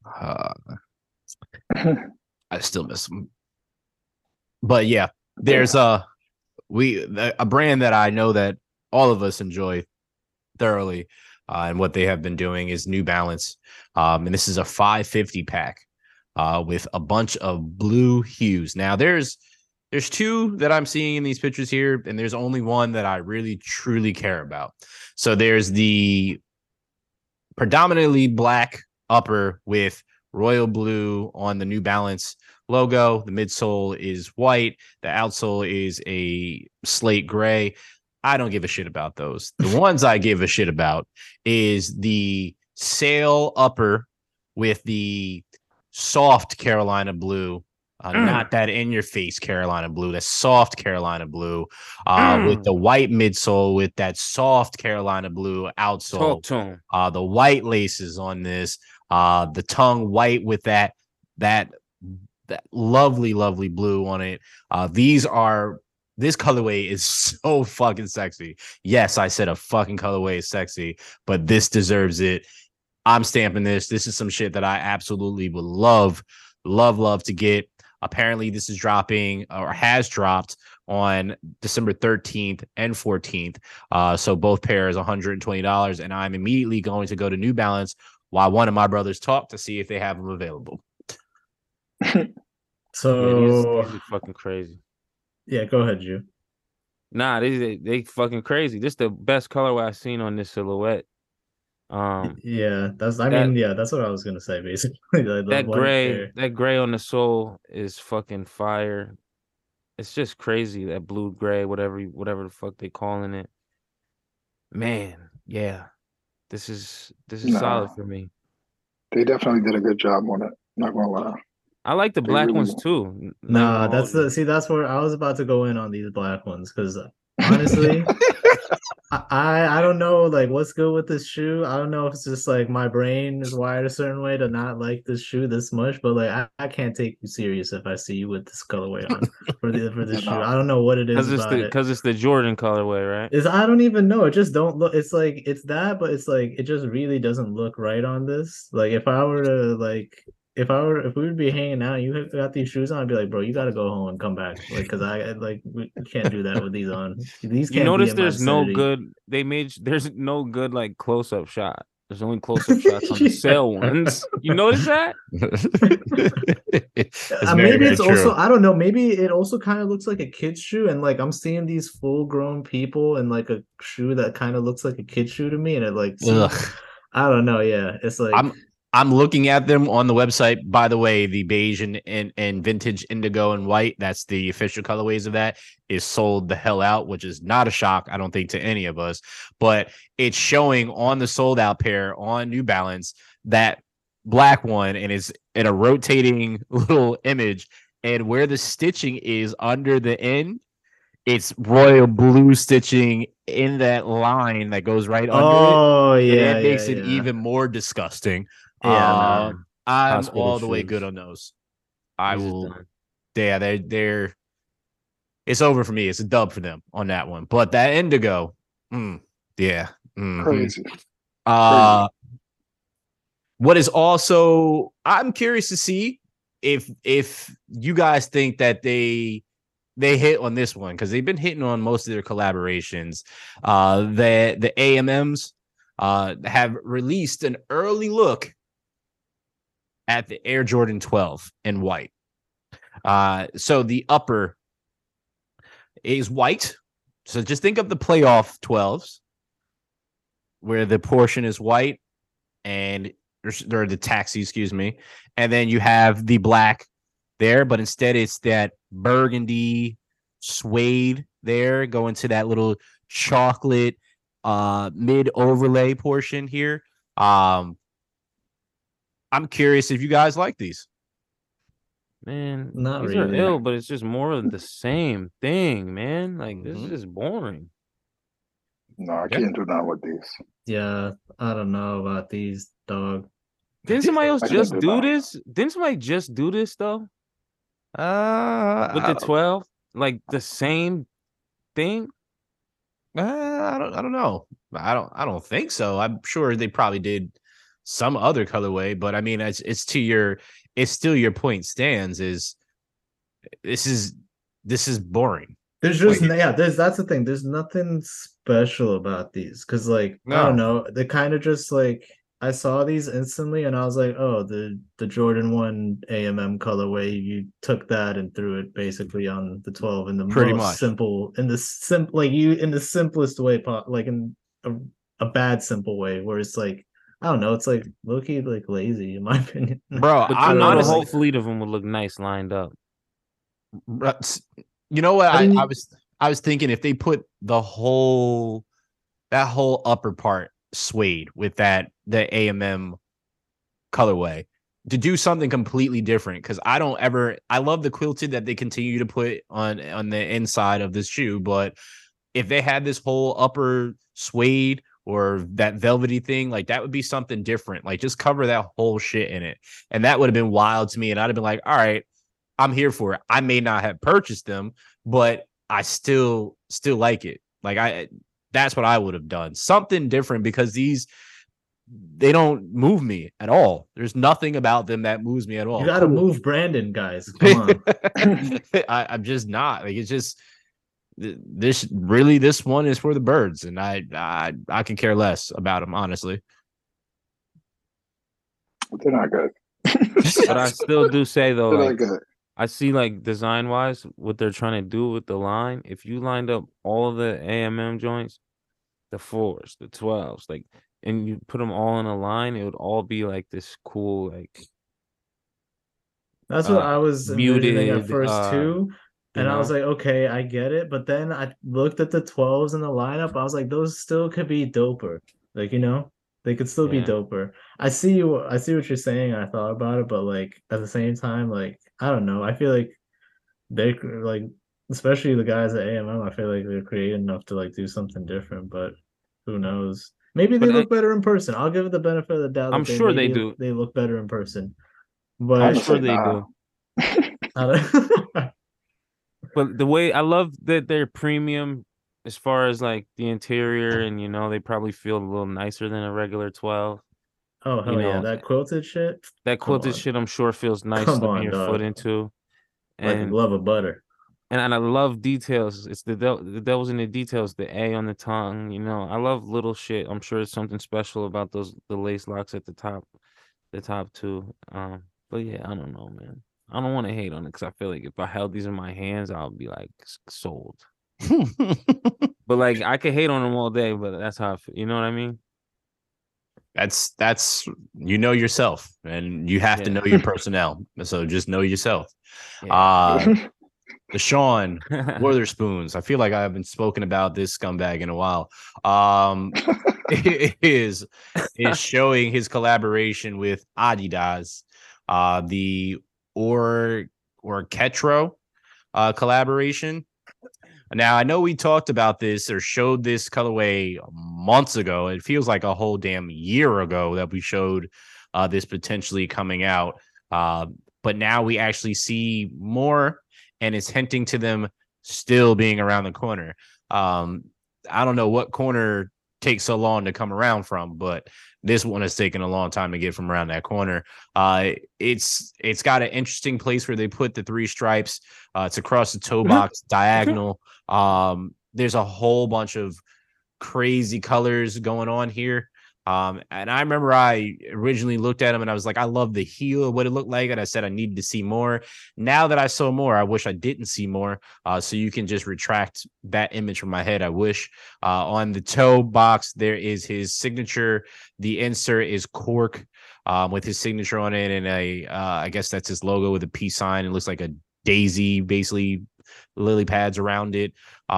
I still miss them. But yeah, there's a brand that I know that all of us enjoy thoroughly, and what they have been doing is New Balance. And this is a 550 pack with a bunch of blue hues. Now there's two that I'm seeing in these pictures here, and there's only one that I really truly care about. So there's the predominantly black upper with royal blue on the New Balance logo. The midsole is white. The outsole is a slate gray. I don't give a shit about those. The ones I give a shit about is the sail upper with the soft Carolina blue, not that in your face Carolina blue, that soft Carolina blue, with the white midsole with that soft Carolina blue outsole. The white laces on this, the tongue white with that lovely blue on it. This colorway is so fucking sexy. Yes, I said a fucking colorway is sexy, but this deserves it. I'm stamping this. This is some shit that I absolutely would love to get. Apparently, this is dropping or has dropped on December 13th and 14th. So both pairs $120, and I'm immediately going to go to New Balance while one of my brothers talk to see if they have them available. So these are fucking crazy. Yeah, go ahead, Ju. Nah, they fucking crazy. This the best colorway I've seen on this silhouette. Yeah, That yeah, that's what I was gonna say basically. The white there. that gray on the sole is fucking fire. It's just crazy, that blue gray, whatever the fuck they calling it. Man, yeah. This is solid No, for me. they definitely did a good job on it. Not gonna lie. I like the They black really ones too. Not even Nah, gonna hold you. that's where I was about to go in on these black ones because honestly, I don't know like what's good with this shoe. I don't know if it's just like my brain is wired a certain way to not like this shoe this much, but like I can't take you serious if I see you with this colorway on for this you shoe. know. I don't know what it is Cause it's about it. the Jordan colorway, right? Is I don't even know. It just don't look. It's like it's that, but it's like it just really doesn't look right on this. Like if I were to like if we would be hanging out, and you got these shoes on, I'd be like, bro, you got to go home and come back. Like because I like we can't do that with these on. These You can't be notice in my there's no vicinity. good there's no good like close up shot. There's only close up shots on the sale ones. You notice that? It's very, Maybe very it's also true. I don't know. Maybe it also kind of looks like a kid's shoe, and like I'm seeing these full grown people in like a shoe that kind of looks like a kid shoe to me, and it like seems Ugh. I don't know. Yeah, it's like I'm looking at them on the website. By the way, the beige and vintage indigo and white, that's the official colorways of that, is sold the hell out, which is not a shock, I don't think, to any of us. But it's showing on the sold out pair on New Balance that black one, and it's in a rotating little image. And where the stitching is under the end, it's royal blue stitching in that line that goes right under it, oh and yeah, it yeah, makes it yeah. even more disgusting. Yeah, Uh, no. Man, I'm hospital all the way good shoes. on those. I This is will. done. Yeah, they're. It's over for me. It's a dub for them on that one. But that indigo, yeah. Crazy. Uh, what is also, I'm curious to see if you guys think that they hit on this one, because they've been hitting on most of their collaborations. The AMMs have released an early look at the Air Jordan 12 in white. So the upper is white. So just think of the playoff 12s where the portion is white and or the taxi, excuse me. And then you have the black there, but instead it's that burgundy suede there going to that little chocolate mid overlay portion here. I'm curious if you guys like these. Man, Not these are really. ill, but it's just more of the same thing, man. Like this is Mhm. just boring. No, I Yeah. can't do nothing with these. Yeah, I don't know about these, dog. Didn't somebody else I can't just do do nothing. this? Didn't somebody just do this though? With I the 12? Like the same thing? I don't know. I don't think so. I'm sure they probably did some other colorway, but I mean it's to your it's still your point stands is this is this is boring. There's just Like yeah, that's the thing. There's nothing special about these because like I don't no. know, they kind of just like I saw these instantly and I was like, oh, the Jordan 1 AMM colorway, you took that and threw it basically on the 12 in the Pretty most much. simple in the like you in the simplest way like in a bad simple way where it's like I don't know, it's like low-key like lazy in my opinion. Bro, But I you I'm don't know know, the honestly whole like fleet of them would look nice lined up. you know what I didn't I was thinking if they put the whole that whole upper part suede with that the AMM colorway to do something completely different, because I love the quilted that they continue to put on the inside of this shoe, but if they had this whole upper suede or that velvety thing, like that would be something different. Like just cover that whole shit in it. And that would have been wild to me. And I'd have been like, all right, I'm here for it. I may not have purchased them, but I still like it. Like that's what I would have done. Something different, because they don't move me at all. There's nothing about them that moves me at you all. got to Cool. move Brandon, guys. Come on. I'm just not like it's just this one is for the birds, and I can care less about them, honestly. They're not good. But I still do say though, They're like not good. I see like design wise what they're trying to do with the line. If you lined up all of the AMM joints, the 4s, the 12s, like, and you put them all in a line, it would all be like this cool, like That's what I was envisioning at muted, first too. you And I was know? like, okay, I get it. But then I looked at the 12s in the lineup. I was like, those still could be doper. Like, they could still be Yeah. doper. I see what you're saying. I thought about it, but like at the same time, like, I don't know. I feel like they like, especially the guys at AMM, I feel like they're creative enough to like do something different, but who knows? Maybe they But look better in person. I'll give it the benefit of the doubt I'm that they sure they maybe do. they look better in person. I'm I'm But gonna sure say they nah. do. I don't But the way I love that they're premium as far as like the interior, and they probably feel a little nicer than a regular 12. Oh You hell yeah, know, that quilted shit. that Come quilted on, shit I'm sure feels nice come slipping on, your foot dog. into. Like a And glove of butter. and I love details. It's the devil's in the details, the A on the tongue, I love little shit. I'm sure it's something special about the lace locks at the top two. But yeah, I don't know, man. I don't want to hate on it because I feel like if I held these in my hands, I'll be like sold. But like I could hate on them all day, but that's how I feel. You know what I mean? That's yourself, and you have to Yeah. know your personnel. So just know yourself. Yeah. The Sean Witherspoons. I feel like I haven't spoken about this scumbag in a while. Um, is showing his collaboration with Adidas, the or Ketro collaboration. Now, I know we talked about this or showed this colorway months ago. It feels like a whole damn year ago that we showed this potentially coming out. But now we actually see more, and it's hinting to them still being around the corner. I don't know what corner takes so long to come around from, but this one has taken a long time to get from around that corner. It's got an interesting place where they put the 3 stripes. It's across the toe box, diagonal. There's a whole bunch of crazy colors going on here. And I remember I originally looked at them and I was like, I love the heel, what it looked like. And I said, I needed to see more. Now that I saw more, I wish I didn't see more. So you can just retract that image from my head. I wish. On the toe box, there is his signature. The insert is cork with his signature on it. And I guess that's his logo with a peace sign. It looks like a daisy, basically lily pads around it.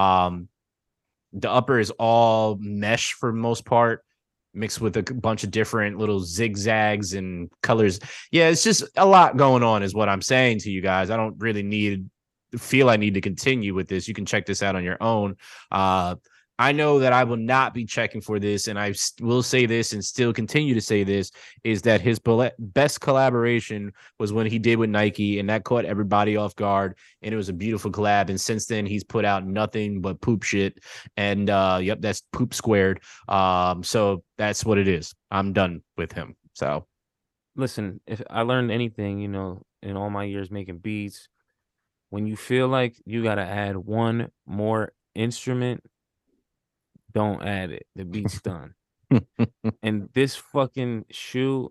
The upper is all mesh for the most part, mixed with a bunch of different little zigzags and colors. Yeah, it's just a lot going on, is what I'm saying to you guys. I don't really feel I need to continue with this. You can check this out on your own. I know that I will not be checking for this, and I will say this and still continue to say this, is that his best collaboration was when he did with Nike, and that caught everybody off guard, and it was a beautiful collab. And since then, he's put out nothing but poop shit, and yep, that's poop squared. So that's what it is. I'm done with him. So Listen, if I learned anything, in all my years making beats, when you feel like you got to add one more instrument, don't add it. The beat's done. And this fucking shoe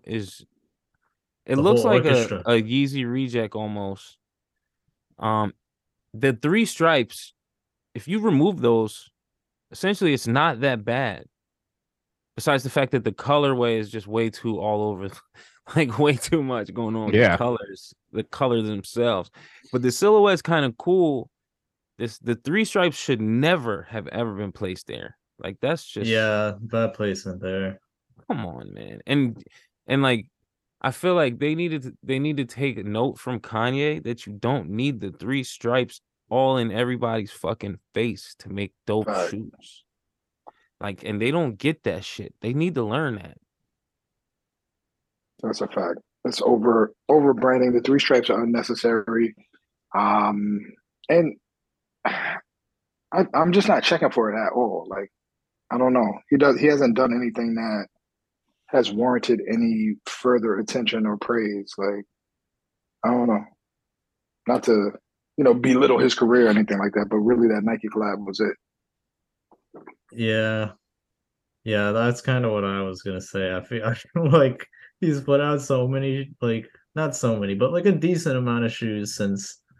it The looks whole like a orchestra. Yeezy reject almost. The 3 stripes, if you remove those, essentially it's not that bad. Besides the fact that the colorway is just way too all over, like way too much going on with yeah, the colors themselves. But the silhouette's kind of cool. The 3 stripes should never have ever been placed there. Like that's just Yeah, bad placement there. come on, man. And like I feel like they need to take a note from Kanye that you don't need the 3 stripes all in everybody's fucking face to make dope Right. shoes. Like, and they don't get that shit. They need to learn that. That's a fact. It's over branding. The 3 stripes are unnecessary. And I'm just not checking for it at all. Like, I don't know. He hasn't done anything that has warranted any further attention or praise. Like, I don't know. Not to, belittle his career or anything like that, but really that Nike collab was it. Yeah. Yeah, that's kind of what I was gonna say. I feel like he's put out so many, like not so many, but like a decent amount of shoes since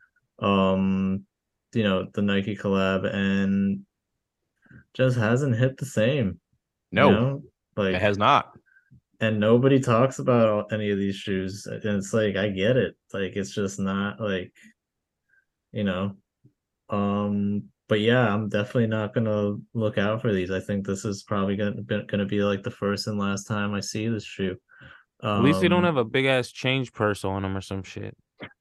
the Nike collab, and just hasn't hit the same, you No, know? it Like, has not. and nobody talks about any of these shoes. And it's like, I get it. Like, it's just not like, you know. But yeah, I'm definitely not gonna look out for these. I think this is probably gonna be like the first and last time I see this shoe. At least they don't Um, have a big ass change purse on them or some shit.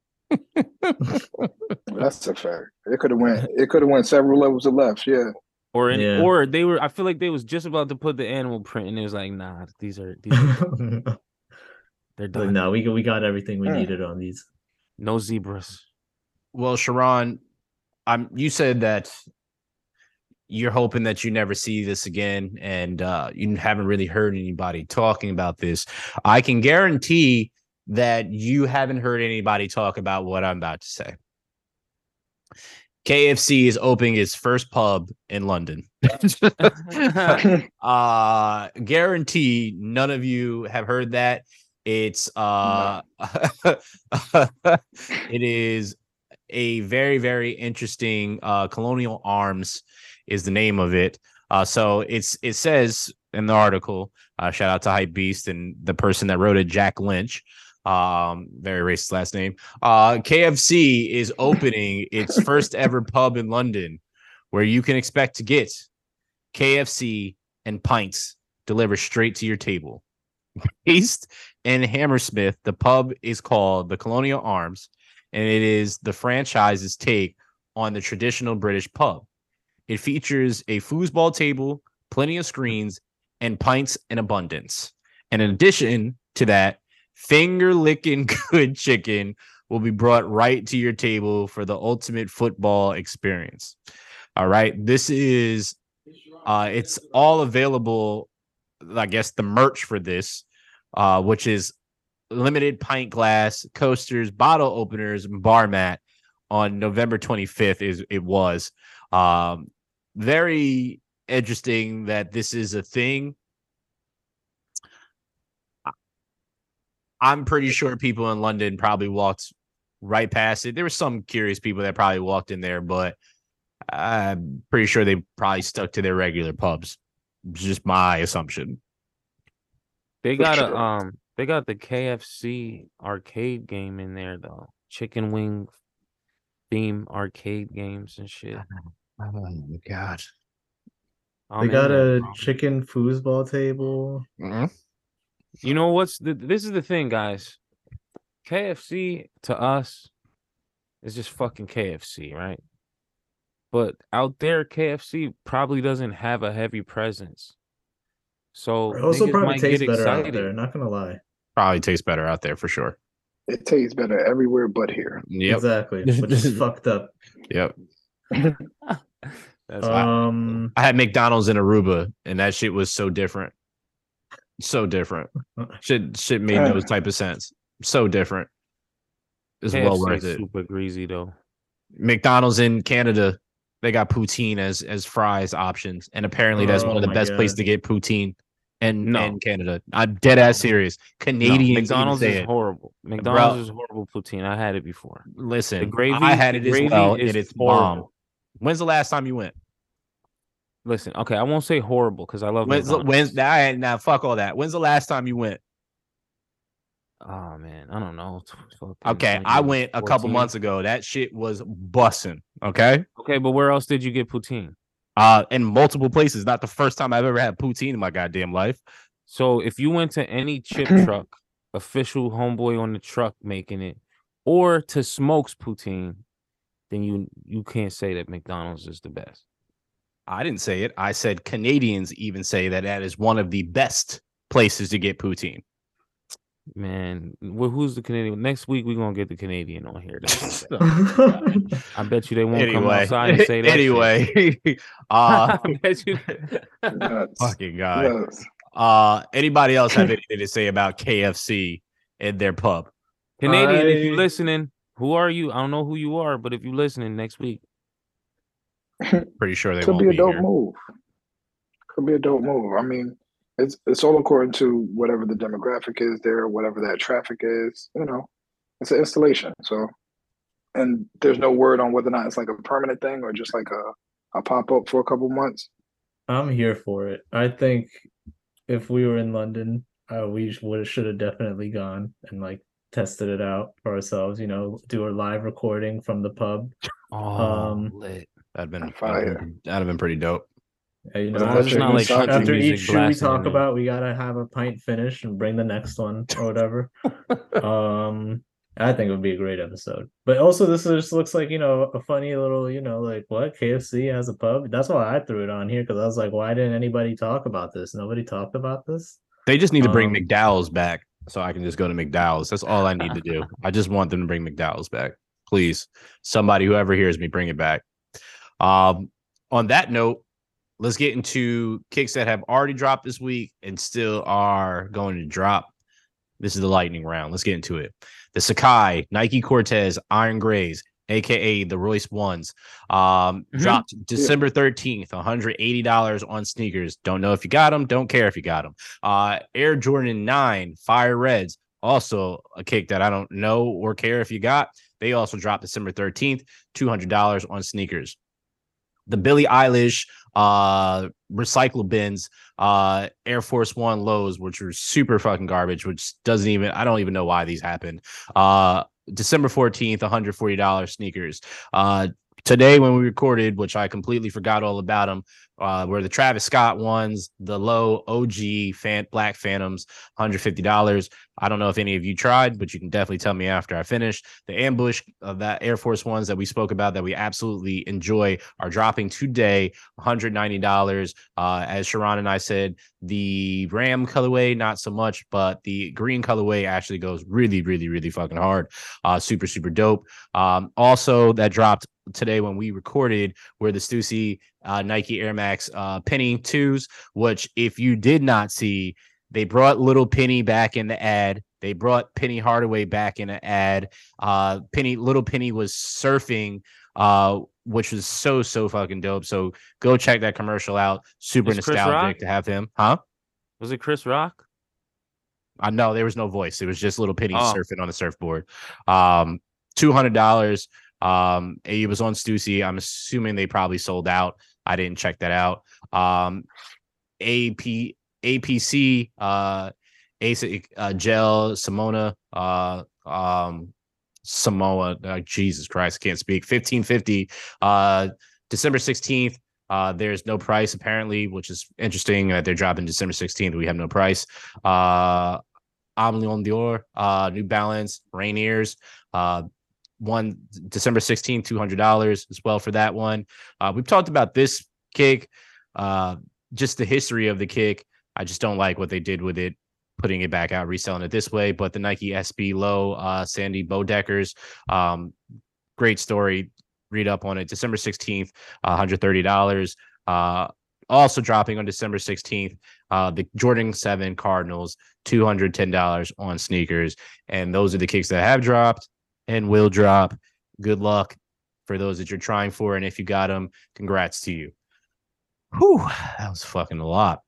That's a fact. It could have went. It could have went several levels of left. Yeah. yeah. Or they were. I feel like they was just about to put the animal print, and it was like, nah, these are done. They're Like, done. no, we got everything we Mm. needed on these. No zebras. Well, Sharon, you said that you're hoping that you never see this again, and you haven't really heard anybody talking about this. I can guarantee that you haven't heard anybody talk about what I'm about to say. KFC is opening its first pub in London. Guarantee none of you have heard that. It's it is a very, very interesting Colonial Arms is the name of it. So it says in the article, shout out to Hype Beast and the person that wrote it, Jack Lynch. Very racist last name. KFC is opening its first ever pub in London where you can expect to get KFC and pints delivered straight to your table. Based in Hammersmith, the pub is called the Colonial Arms, and it is the franchise's take on the traditional British pub. It features a foosball table, plenty of screens, and pints in abundance. And in addition to that, finger-licking good chicken will be brought right to your table for the ultimate football experience. All right. This is it's all available. I guess the merch for this, which is limited pint glass, coasters, bottle openers, and bar mat on November 25th. It was very interesting that this is a thing. I'm pretty sure people in London probably walked right past it. There were some curious people that probably walked in there, but I'm pretty sure they probably stuck to their regular pubs. It's just my assumption. They got they got the KFC arcade game in there though. Chicken wing theme arcade games and shit. Oh my god. They got a chicken foosball table. Mm-hmm. You know this is the thing, guys. KFC to us is just fucking KFC, right? But out there, KFC probably doesn't have a heavy presence. So It also niggas probably might tastes get better out excited. there, not gonna lie. Probably tastes better out there for sure. It tastes better everywhere but here. Yep. Exactly, which is fucked up. Yep. That's I had McDonald's in Aruba, and that shit was so different. So different. Shit made no type of sense. So different. It's KFC well worth it. Super greasy though. McDonald's in Canada, they got poutine as fries options, and apparently that's one of the best places to get poutine in Canada. I'm dead ass serious. Canadians McDonald's is it. horrible. McDonald's is horrible poutine. I had it before. Listen, the gravy, I had it as well, and it's bomb. horrible. When's the last time you went? Listen, okay, I won't say horrible because I love when's now fuck all that. When's the last time you went? Oh man, I don't know. Okay, I went a couple months ago. That shit was bussing. Okay. Okay, but where else did you get poutine? In multiple places. Not the first time I've ever had poutine in my goddamn life. So if you went to any chip truck, official homeboy on the truck making it, or to Smokes Poutine, then you can't say that McDonald's is the best. I didn't say it. I said Canadians even say that is one of the best places to get poutine. Man, who's the Canadian? Next week we're gonna get the Canadian on here. I bet you they won't come outside and say that. Anyway, I bet you. Fucking God. Anybody else have anything to say about KFC and their pub? Canadian, if you're listening, who are you? I don't know who you are, but if you're listening next week, pretty sure they could won't be a dope here. move. Could be a dope move. I mean, it's all according to whatever the demographic is there, whatever that traffic is. You know, it's an installation. So and there's no word on whether or not it's like a permanent thing or just like a pop up for a couple months. I'm here for it. I think if we were in London, we would should have definitely gone and like tested it out for ourselves. You know, do a live recording from the pub. Oh, lit. Fire. That'd have been pretty dope. You As know, long as it's not like country after music each shoe we blasting talk in about, we gotta have a pint finish and bring the next one or whatever. I think it would be a great episode. But also, this just looks like, you know, a funny little, you know, like what KFC has a pub. That's why I threw it on here because I was like, why didn't anybody talk about this? Nobody talked about this. They just need to bring Um, McDowell's back so I can just go to McDowell's. That's all I need to do. I just want them to bring McDowell's back. Please, somebody, whoever hears me, bring it back. On that note, let's get into kicks that have already dropped this week and still are going to drop. This is the lightning round. Let's get into it. The Sakai Nike Cortez Iron Grays, aka the Royce Ones, dropped December 13th, $180 on sneakers. Don't know if you got them. Don't care if you got them. Air Jordan 9 Fire Reds, also a kick that I don't know or care if you got. They also dropped December 13th, $200 on sneakers. The Billie Eilish recycle bins, Air Force One lows, which were super fucking garbage, which I don't even know why these happened. December 14th, $140 sneakers. Today when we recorded, which I completely forgot all about them, were the Travis Scott ones, the low OG Black Phantoms, $150. I don't know if any of you tried, but you can definitely tell me after I finish. The Ambush of that Air Force Ones that we spoke about that we absolutely enjoy are dropping today, $190. As Sharon and I said, the Ram colorway, not so much, but the green colorway actually goes really, really, really fucking hard. Super, super dope. Also, that dropped today when we recorded were the Stussy Nike Air Max Penny 2s, which if you did not see, they brought Little Penny back in the ad. They brought Penny Hardaway back in the ad. Little Penny was surfing, which was so fucking dope. So go check that commercial out. Super nostalgic to have him. Huh? Was it Chris Rock? No, there was no voice. It was just Little Penny surfing on the surfboard. $200. It was on Stussy. I'm assuming they probably sold out. I didn't check that out. APC ASIC Gel Simona Samoa. Jesus Christ, I can't speak. 1550. December 16th. There's no price apparently, which is interesting that they're dropping December 16th. We have no price. Amlion Dior, New Balance, Rainiers. One December 16th, $200 as well for that one. We've talked about this kick, just the history of the kick. I just don't like what they did with it, putting it back out, reselling it this way. But the Nike SB Low Sandy Bodeckers, great story. Read up on it. December 16th, $130. Also dropping on December 16th, the Jordan 7 Cardinals, $210 on sneakers. And those are the kicks that have dropped and will drop. Good luck for those that you're trying for. And if you got them, congrats to you. Whew, that was fucking a lot.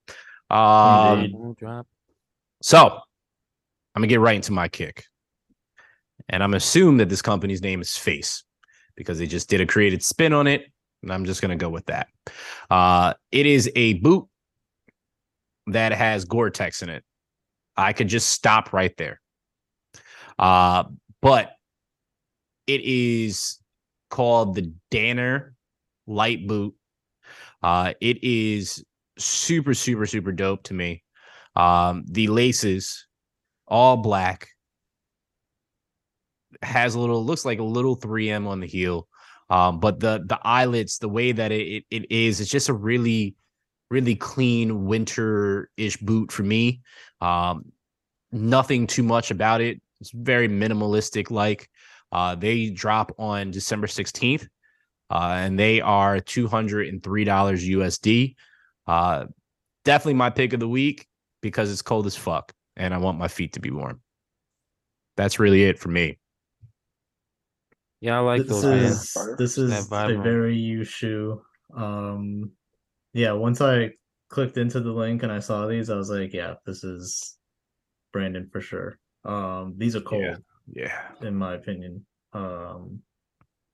So I'm gonna get right into my kick. And I'm gonna assume that this company's name is Face because they just did a created spin on it. And I'm just gonna go with that. It is a boot that has Gore-Tex in it. I could just stop right there. But it is called the Danner Light Boot. It is super, super, super dope to me. The laces, all black, looks like a little 3M on the heel. But the eyelets, the way that it is, it's just a really, really clean winter-ish boot for me. Nothing too much about it. It's very minimalistic like. They drop on December 16th, and they are $203 USD. Definitely my pick of the week because it's cold as fuck, and I want my feet to be warm. That's really it for me. Yeah, I like those. This is a very you shoe. Yeah, once I clicked into the link and I saw these, I was like, yeah, this is Brandon for sure. These are cold. Yeah. In my opinion.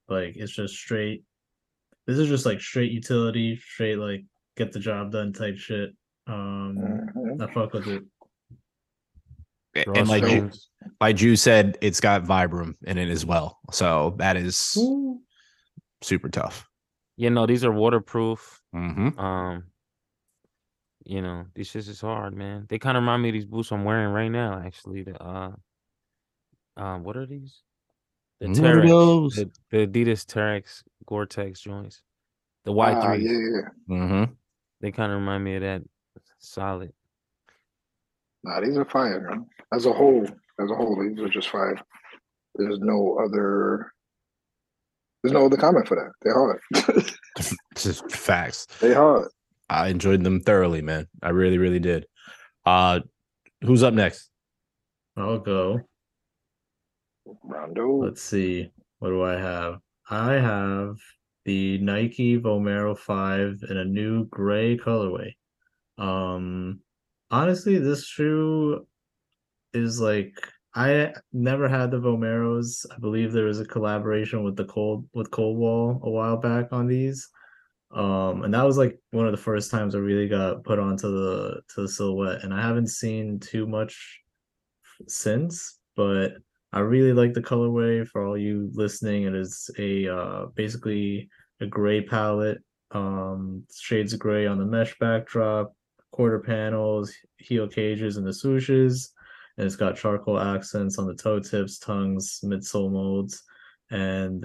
Like it's just straight. This is just like straight utility, straight like get the job done type shit. Mhm. I fuck with it. And Drawstrings. like Drew said, it's got Vibram in it as well. So that is super tough. You know, these are waterproof. Mm-hmm. You know, these shits is hard, man. They kind of remind me of these boots I'm wearing right now, actually. The what are these? The What are Terex, those? the Adidas Terex Gore-Tex joints, the Yeah, Y3s. yeah. Mm-hmm. They kind of remind me of that. Solid. Nah, these are fire, man. As a whole, these are just fire. There's no other. There's no other comment for that. They're hard. Just facts. They hard. I enjoyed them thoroughly, man. I really, really did. Who's up next? I'll go. Rondo. Let's see. What do I have? I have the Nike Vomero 5 in a new gray colorway. Honestly, this shoe is like I never had the Vomeros. I believe there was a collaboration with Coldwall a while back on these. And that was like one of the first times I really got put onto the silhouette, and I haven't seen too much since, but I really like the colorway. For all you listening, it is a basically a gray palette, shades of gray on the mesh backdrop, quarter panels, heel cages, and the swooshes. And it's got charcoal accents on the toe tips, tongues, midsole molds, and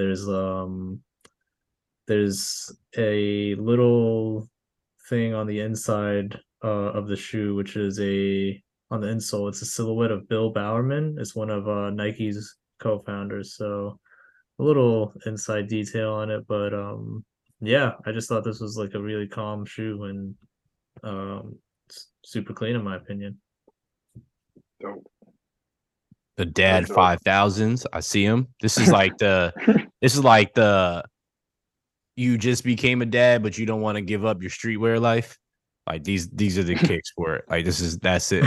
there's a little thing on the inside of the shoe, which is a on the insole. It's a silhouette of Bill Bowerman. It's one of Nike's co-founders. So a little inside detail on it, but yeah, I just thought this was like a really calm shoe and super clean in my opinion. Dope. The Dad 5000s. I see him. This is like the you just became a dad, but you don't want to give up your streetwear life. Like these are the kicks for it. Like that's it.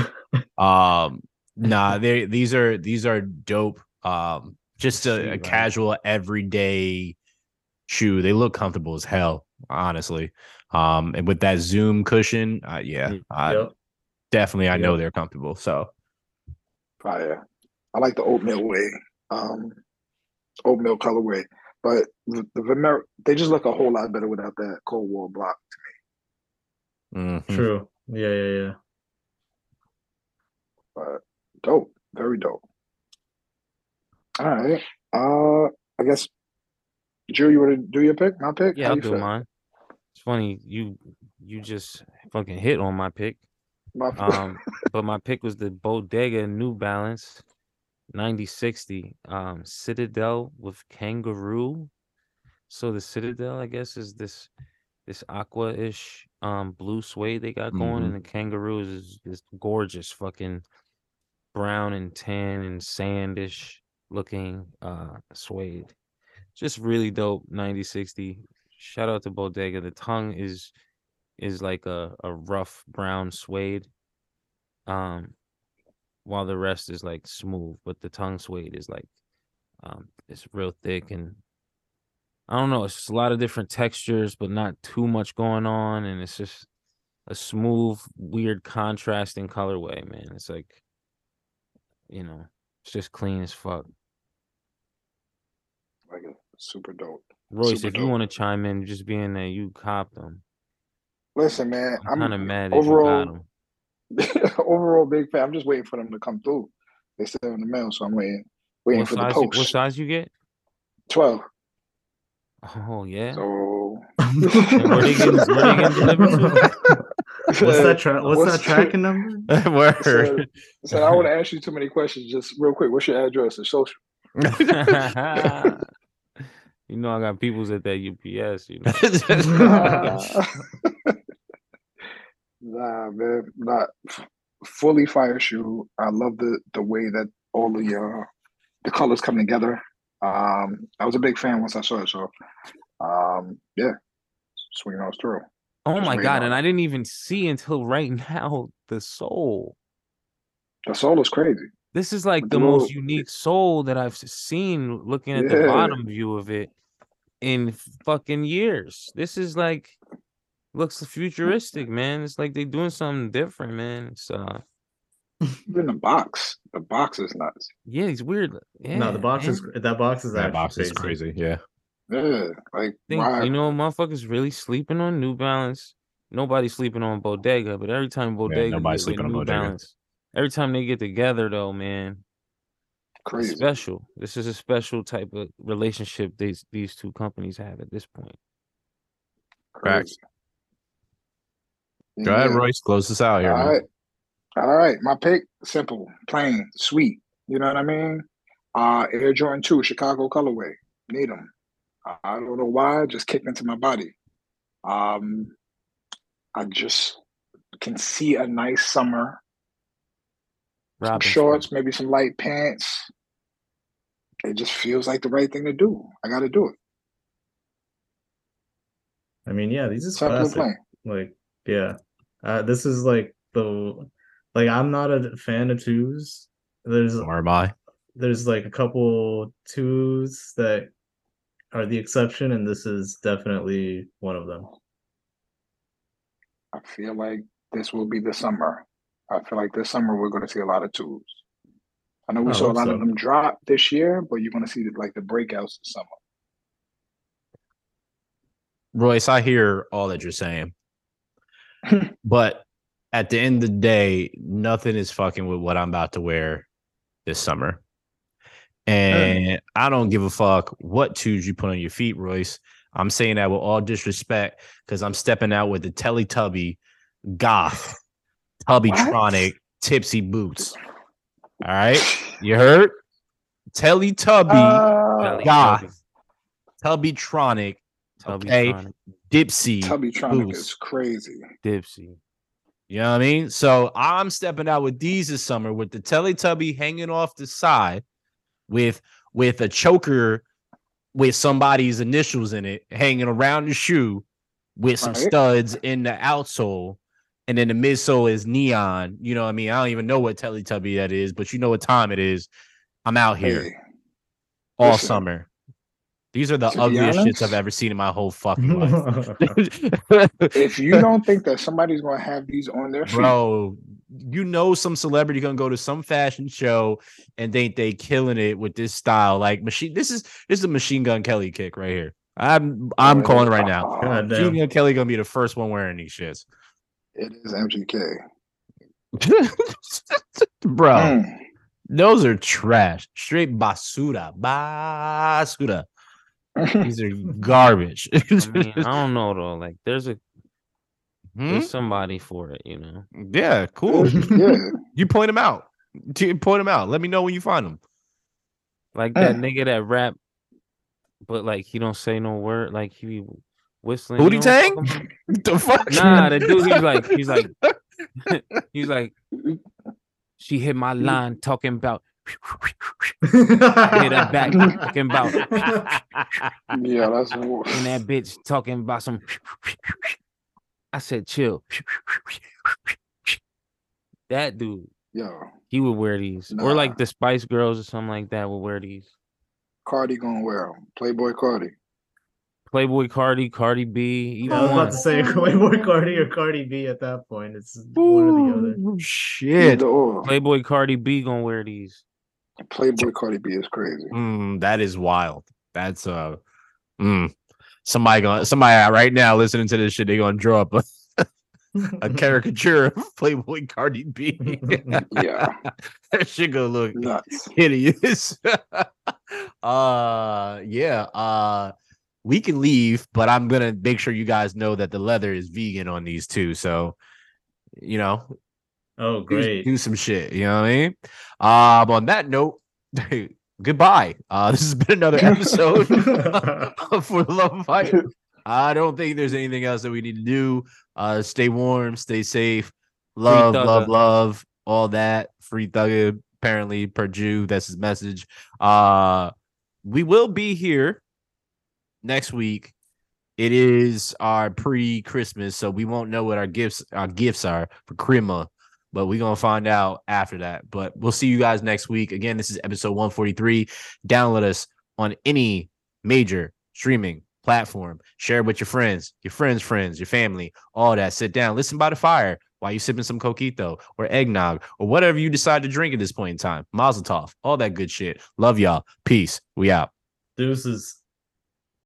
These are dope. Just a casual everyday shoe. They look comfortable as hell, honestly. And with that Zoom cushion, definitely I know they're comfortable. So fire. I like the oatmeal way, oatmeal colorway. But the Vomero, they just look a whole lot better without that Coldwall block to me. Mm-hmm. True. Yeah. But dope. Very dope. All right. I guess, Drew, you want to do your pick? My pick? Yeah, I'll do mine. It's funny, you just fucking hit on my pick. But my pick was the Bodega New Balance 9060 Citadel with kangaroo. So the Citadel, I guess, is this aqua-ish blue suede they got going, and the kangaroo is this gorgeous fucking brown and tan and sandish looking suede. Just really dope 9060. Shout out to Bodega. The tongue is like a rough brown suede. While the rest is like smooth, but the tongue suede is like it's real thick, and I don't know, it's just a lot of different textures, but not too much going on, and it's just a smooth, weird contrasting colorway, man. It's like, it's just clean as fuck. Like it. Super dope. Royce, if you want to chime in, just being there, you cop them. Listen, man, I'm kind of mad that you got them. Overall big fan. I'm just waiting for them to come through. They still in the mail, so I'm waiting for the post. What size you get? 12. Oh yeah. So where they getting delivered to? What's that tracking number? So I don't want to ask you too many questions. Just real quick, what's your address and social? You know I got peoples at that UPS. Nah, man, not fully fire shoe. I love the way that all the colors come together. I was a big fan once I saw it, so yeah, swinging on through. Oh my god! And I didn't even see until right now the sole. The sole is crazy. This is like the most unique sole that I've seen. Looking at the bottom view of it, in fucking years. This is like looks futuristic, man. It's like they doing something different, man. It's Even the box. The box is nuts. yeah, it's weird. Yeah, No, the box man. is that box is That actually box is crazy. Yeah. Yeah, like Think why? you know, motherfuckers really sleeping on New Balance. Nobody's sleeping on Bodega, but every time Bodega nobody's get with sleeping on New Bodega. Balance, every time they get together, though, man, it's Crazy. special. This is a special type of relationship these two companies have at this point. Crazy. Go ahead, Yeah. Royce. Close this out here, All man. right. All right. My pick, simple, plain, sweet. You know what I mean? Air Jordan 2, Chicago colorway. Need them. I don't know why, just kicked into my body. I just can see a nice summer. Some Robinson. shorts, maybe some light pants. It just feels like the right thing to do. I got to do it. I mean, yeah, these is Simple and classic. plain. Like, yeah, this is like I'm not a fan of twos. Or am I? There's like a couple twos that are the exception, and this is definitely one of them. I feel like this will be the summer. I feel like this summer we're going to see a lot of twos. I know we I saw a hope lot so. of them drop this year, but you're going to see like the breakouts this summer. Royce, I hear all that you're saying. But at the end of the day, nothing is fucking with what I'm about to wear this summer. And I don't give a fuck what twos you put on your feet, Royce. I'm saying that with all disrespect because I'm stepping out with the Teletubby Goth Tubbytronic Tipsy boots. All right? You heard? Teletubby Goth Tubbytronic. Okay? Tubbytronic. Dipsy Tubbytronic boots. is crazy. Dipsy. You know what I mean? So I'm stepping out with these this summer with the Teletubby hanging off the side with a choker with somebody's initials in it hanging around the shoe with some studs in the outsole. And then the midsole is neon. You know what I mean? I don't even know what Teletubby that is, but you know what time it is. I'm out here all summer. These are the ugliest shits I've ever seen in my whole fucking life. If you don't think that somebody's going to have these on their feet, bro, you know some celebrity gonna go to some fashion show and they killing it with this style. Like this is a Machine Gun Kelly kick right here. I'm calling it right now. Machine Gun Kelly gonna be the first one wearing these shits. It is MGK. Bro, those are trash. Straight basura. Basura. These are garbage. I mean, I don't know though. Like there's somebody for it, you know. Yeah, cool. Yeah. You point them out. Let me know when you find them. Like that nigga that rap, but like he don't say no word. Like he be whistling. Booty Tang? The fuck? Nah, the dude. He's like. She hit my line talking about. Hit her back talking about. Yeah, that's and that bitch talking about some. I said, chill. That dude. Yo. He would wear these. Or like the Spice Girls or something like that would wear these. Cardi gonna wear them. Playboy Cardi. Playboy Cardi, Cardi B. I was about to say Playboy Cardi or Cardi B at that point. It's one or the other. Shit. Playboy Cardi B gonna wear these. Playboy Cardi B is crazy. That is wild. That's somebody right now listening to this shit, they gonna draw up a caricature of Playboy Cardi B. Yeah. That shit gonna look nuts. Hideous. We can leave, but I'm gonna make sure you guys know that the leather is vegan on these too. So, you know, oh great, do some shit. You know what I mean? On that note, goodbye. This has been another episode For the Love of Fight. I don't think there's anything else that we need to do. Stay warm, stay safe, love, all that. Free Thugger, apparently per Jew. That's his message. We will be here next week. It is our pre-Christmas, so we won't know what our gifts are for Krima, but we're gonna find out after that. But we'll see you guys next week. Again, this is episode 143. Download us on any major streaming platform. Share it with your friends, your family, all that. Sit down, listen by the fire while you sipping some coquito or eggnog or whatever you decide to drink at this point in time. Mazel tov, all that good shit. Love y'all. Peace. We out. Deuces.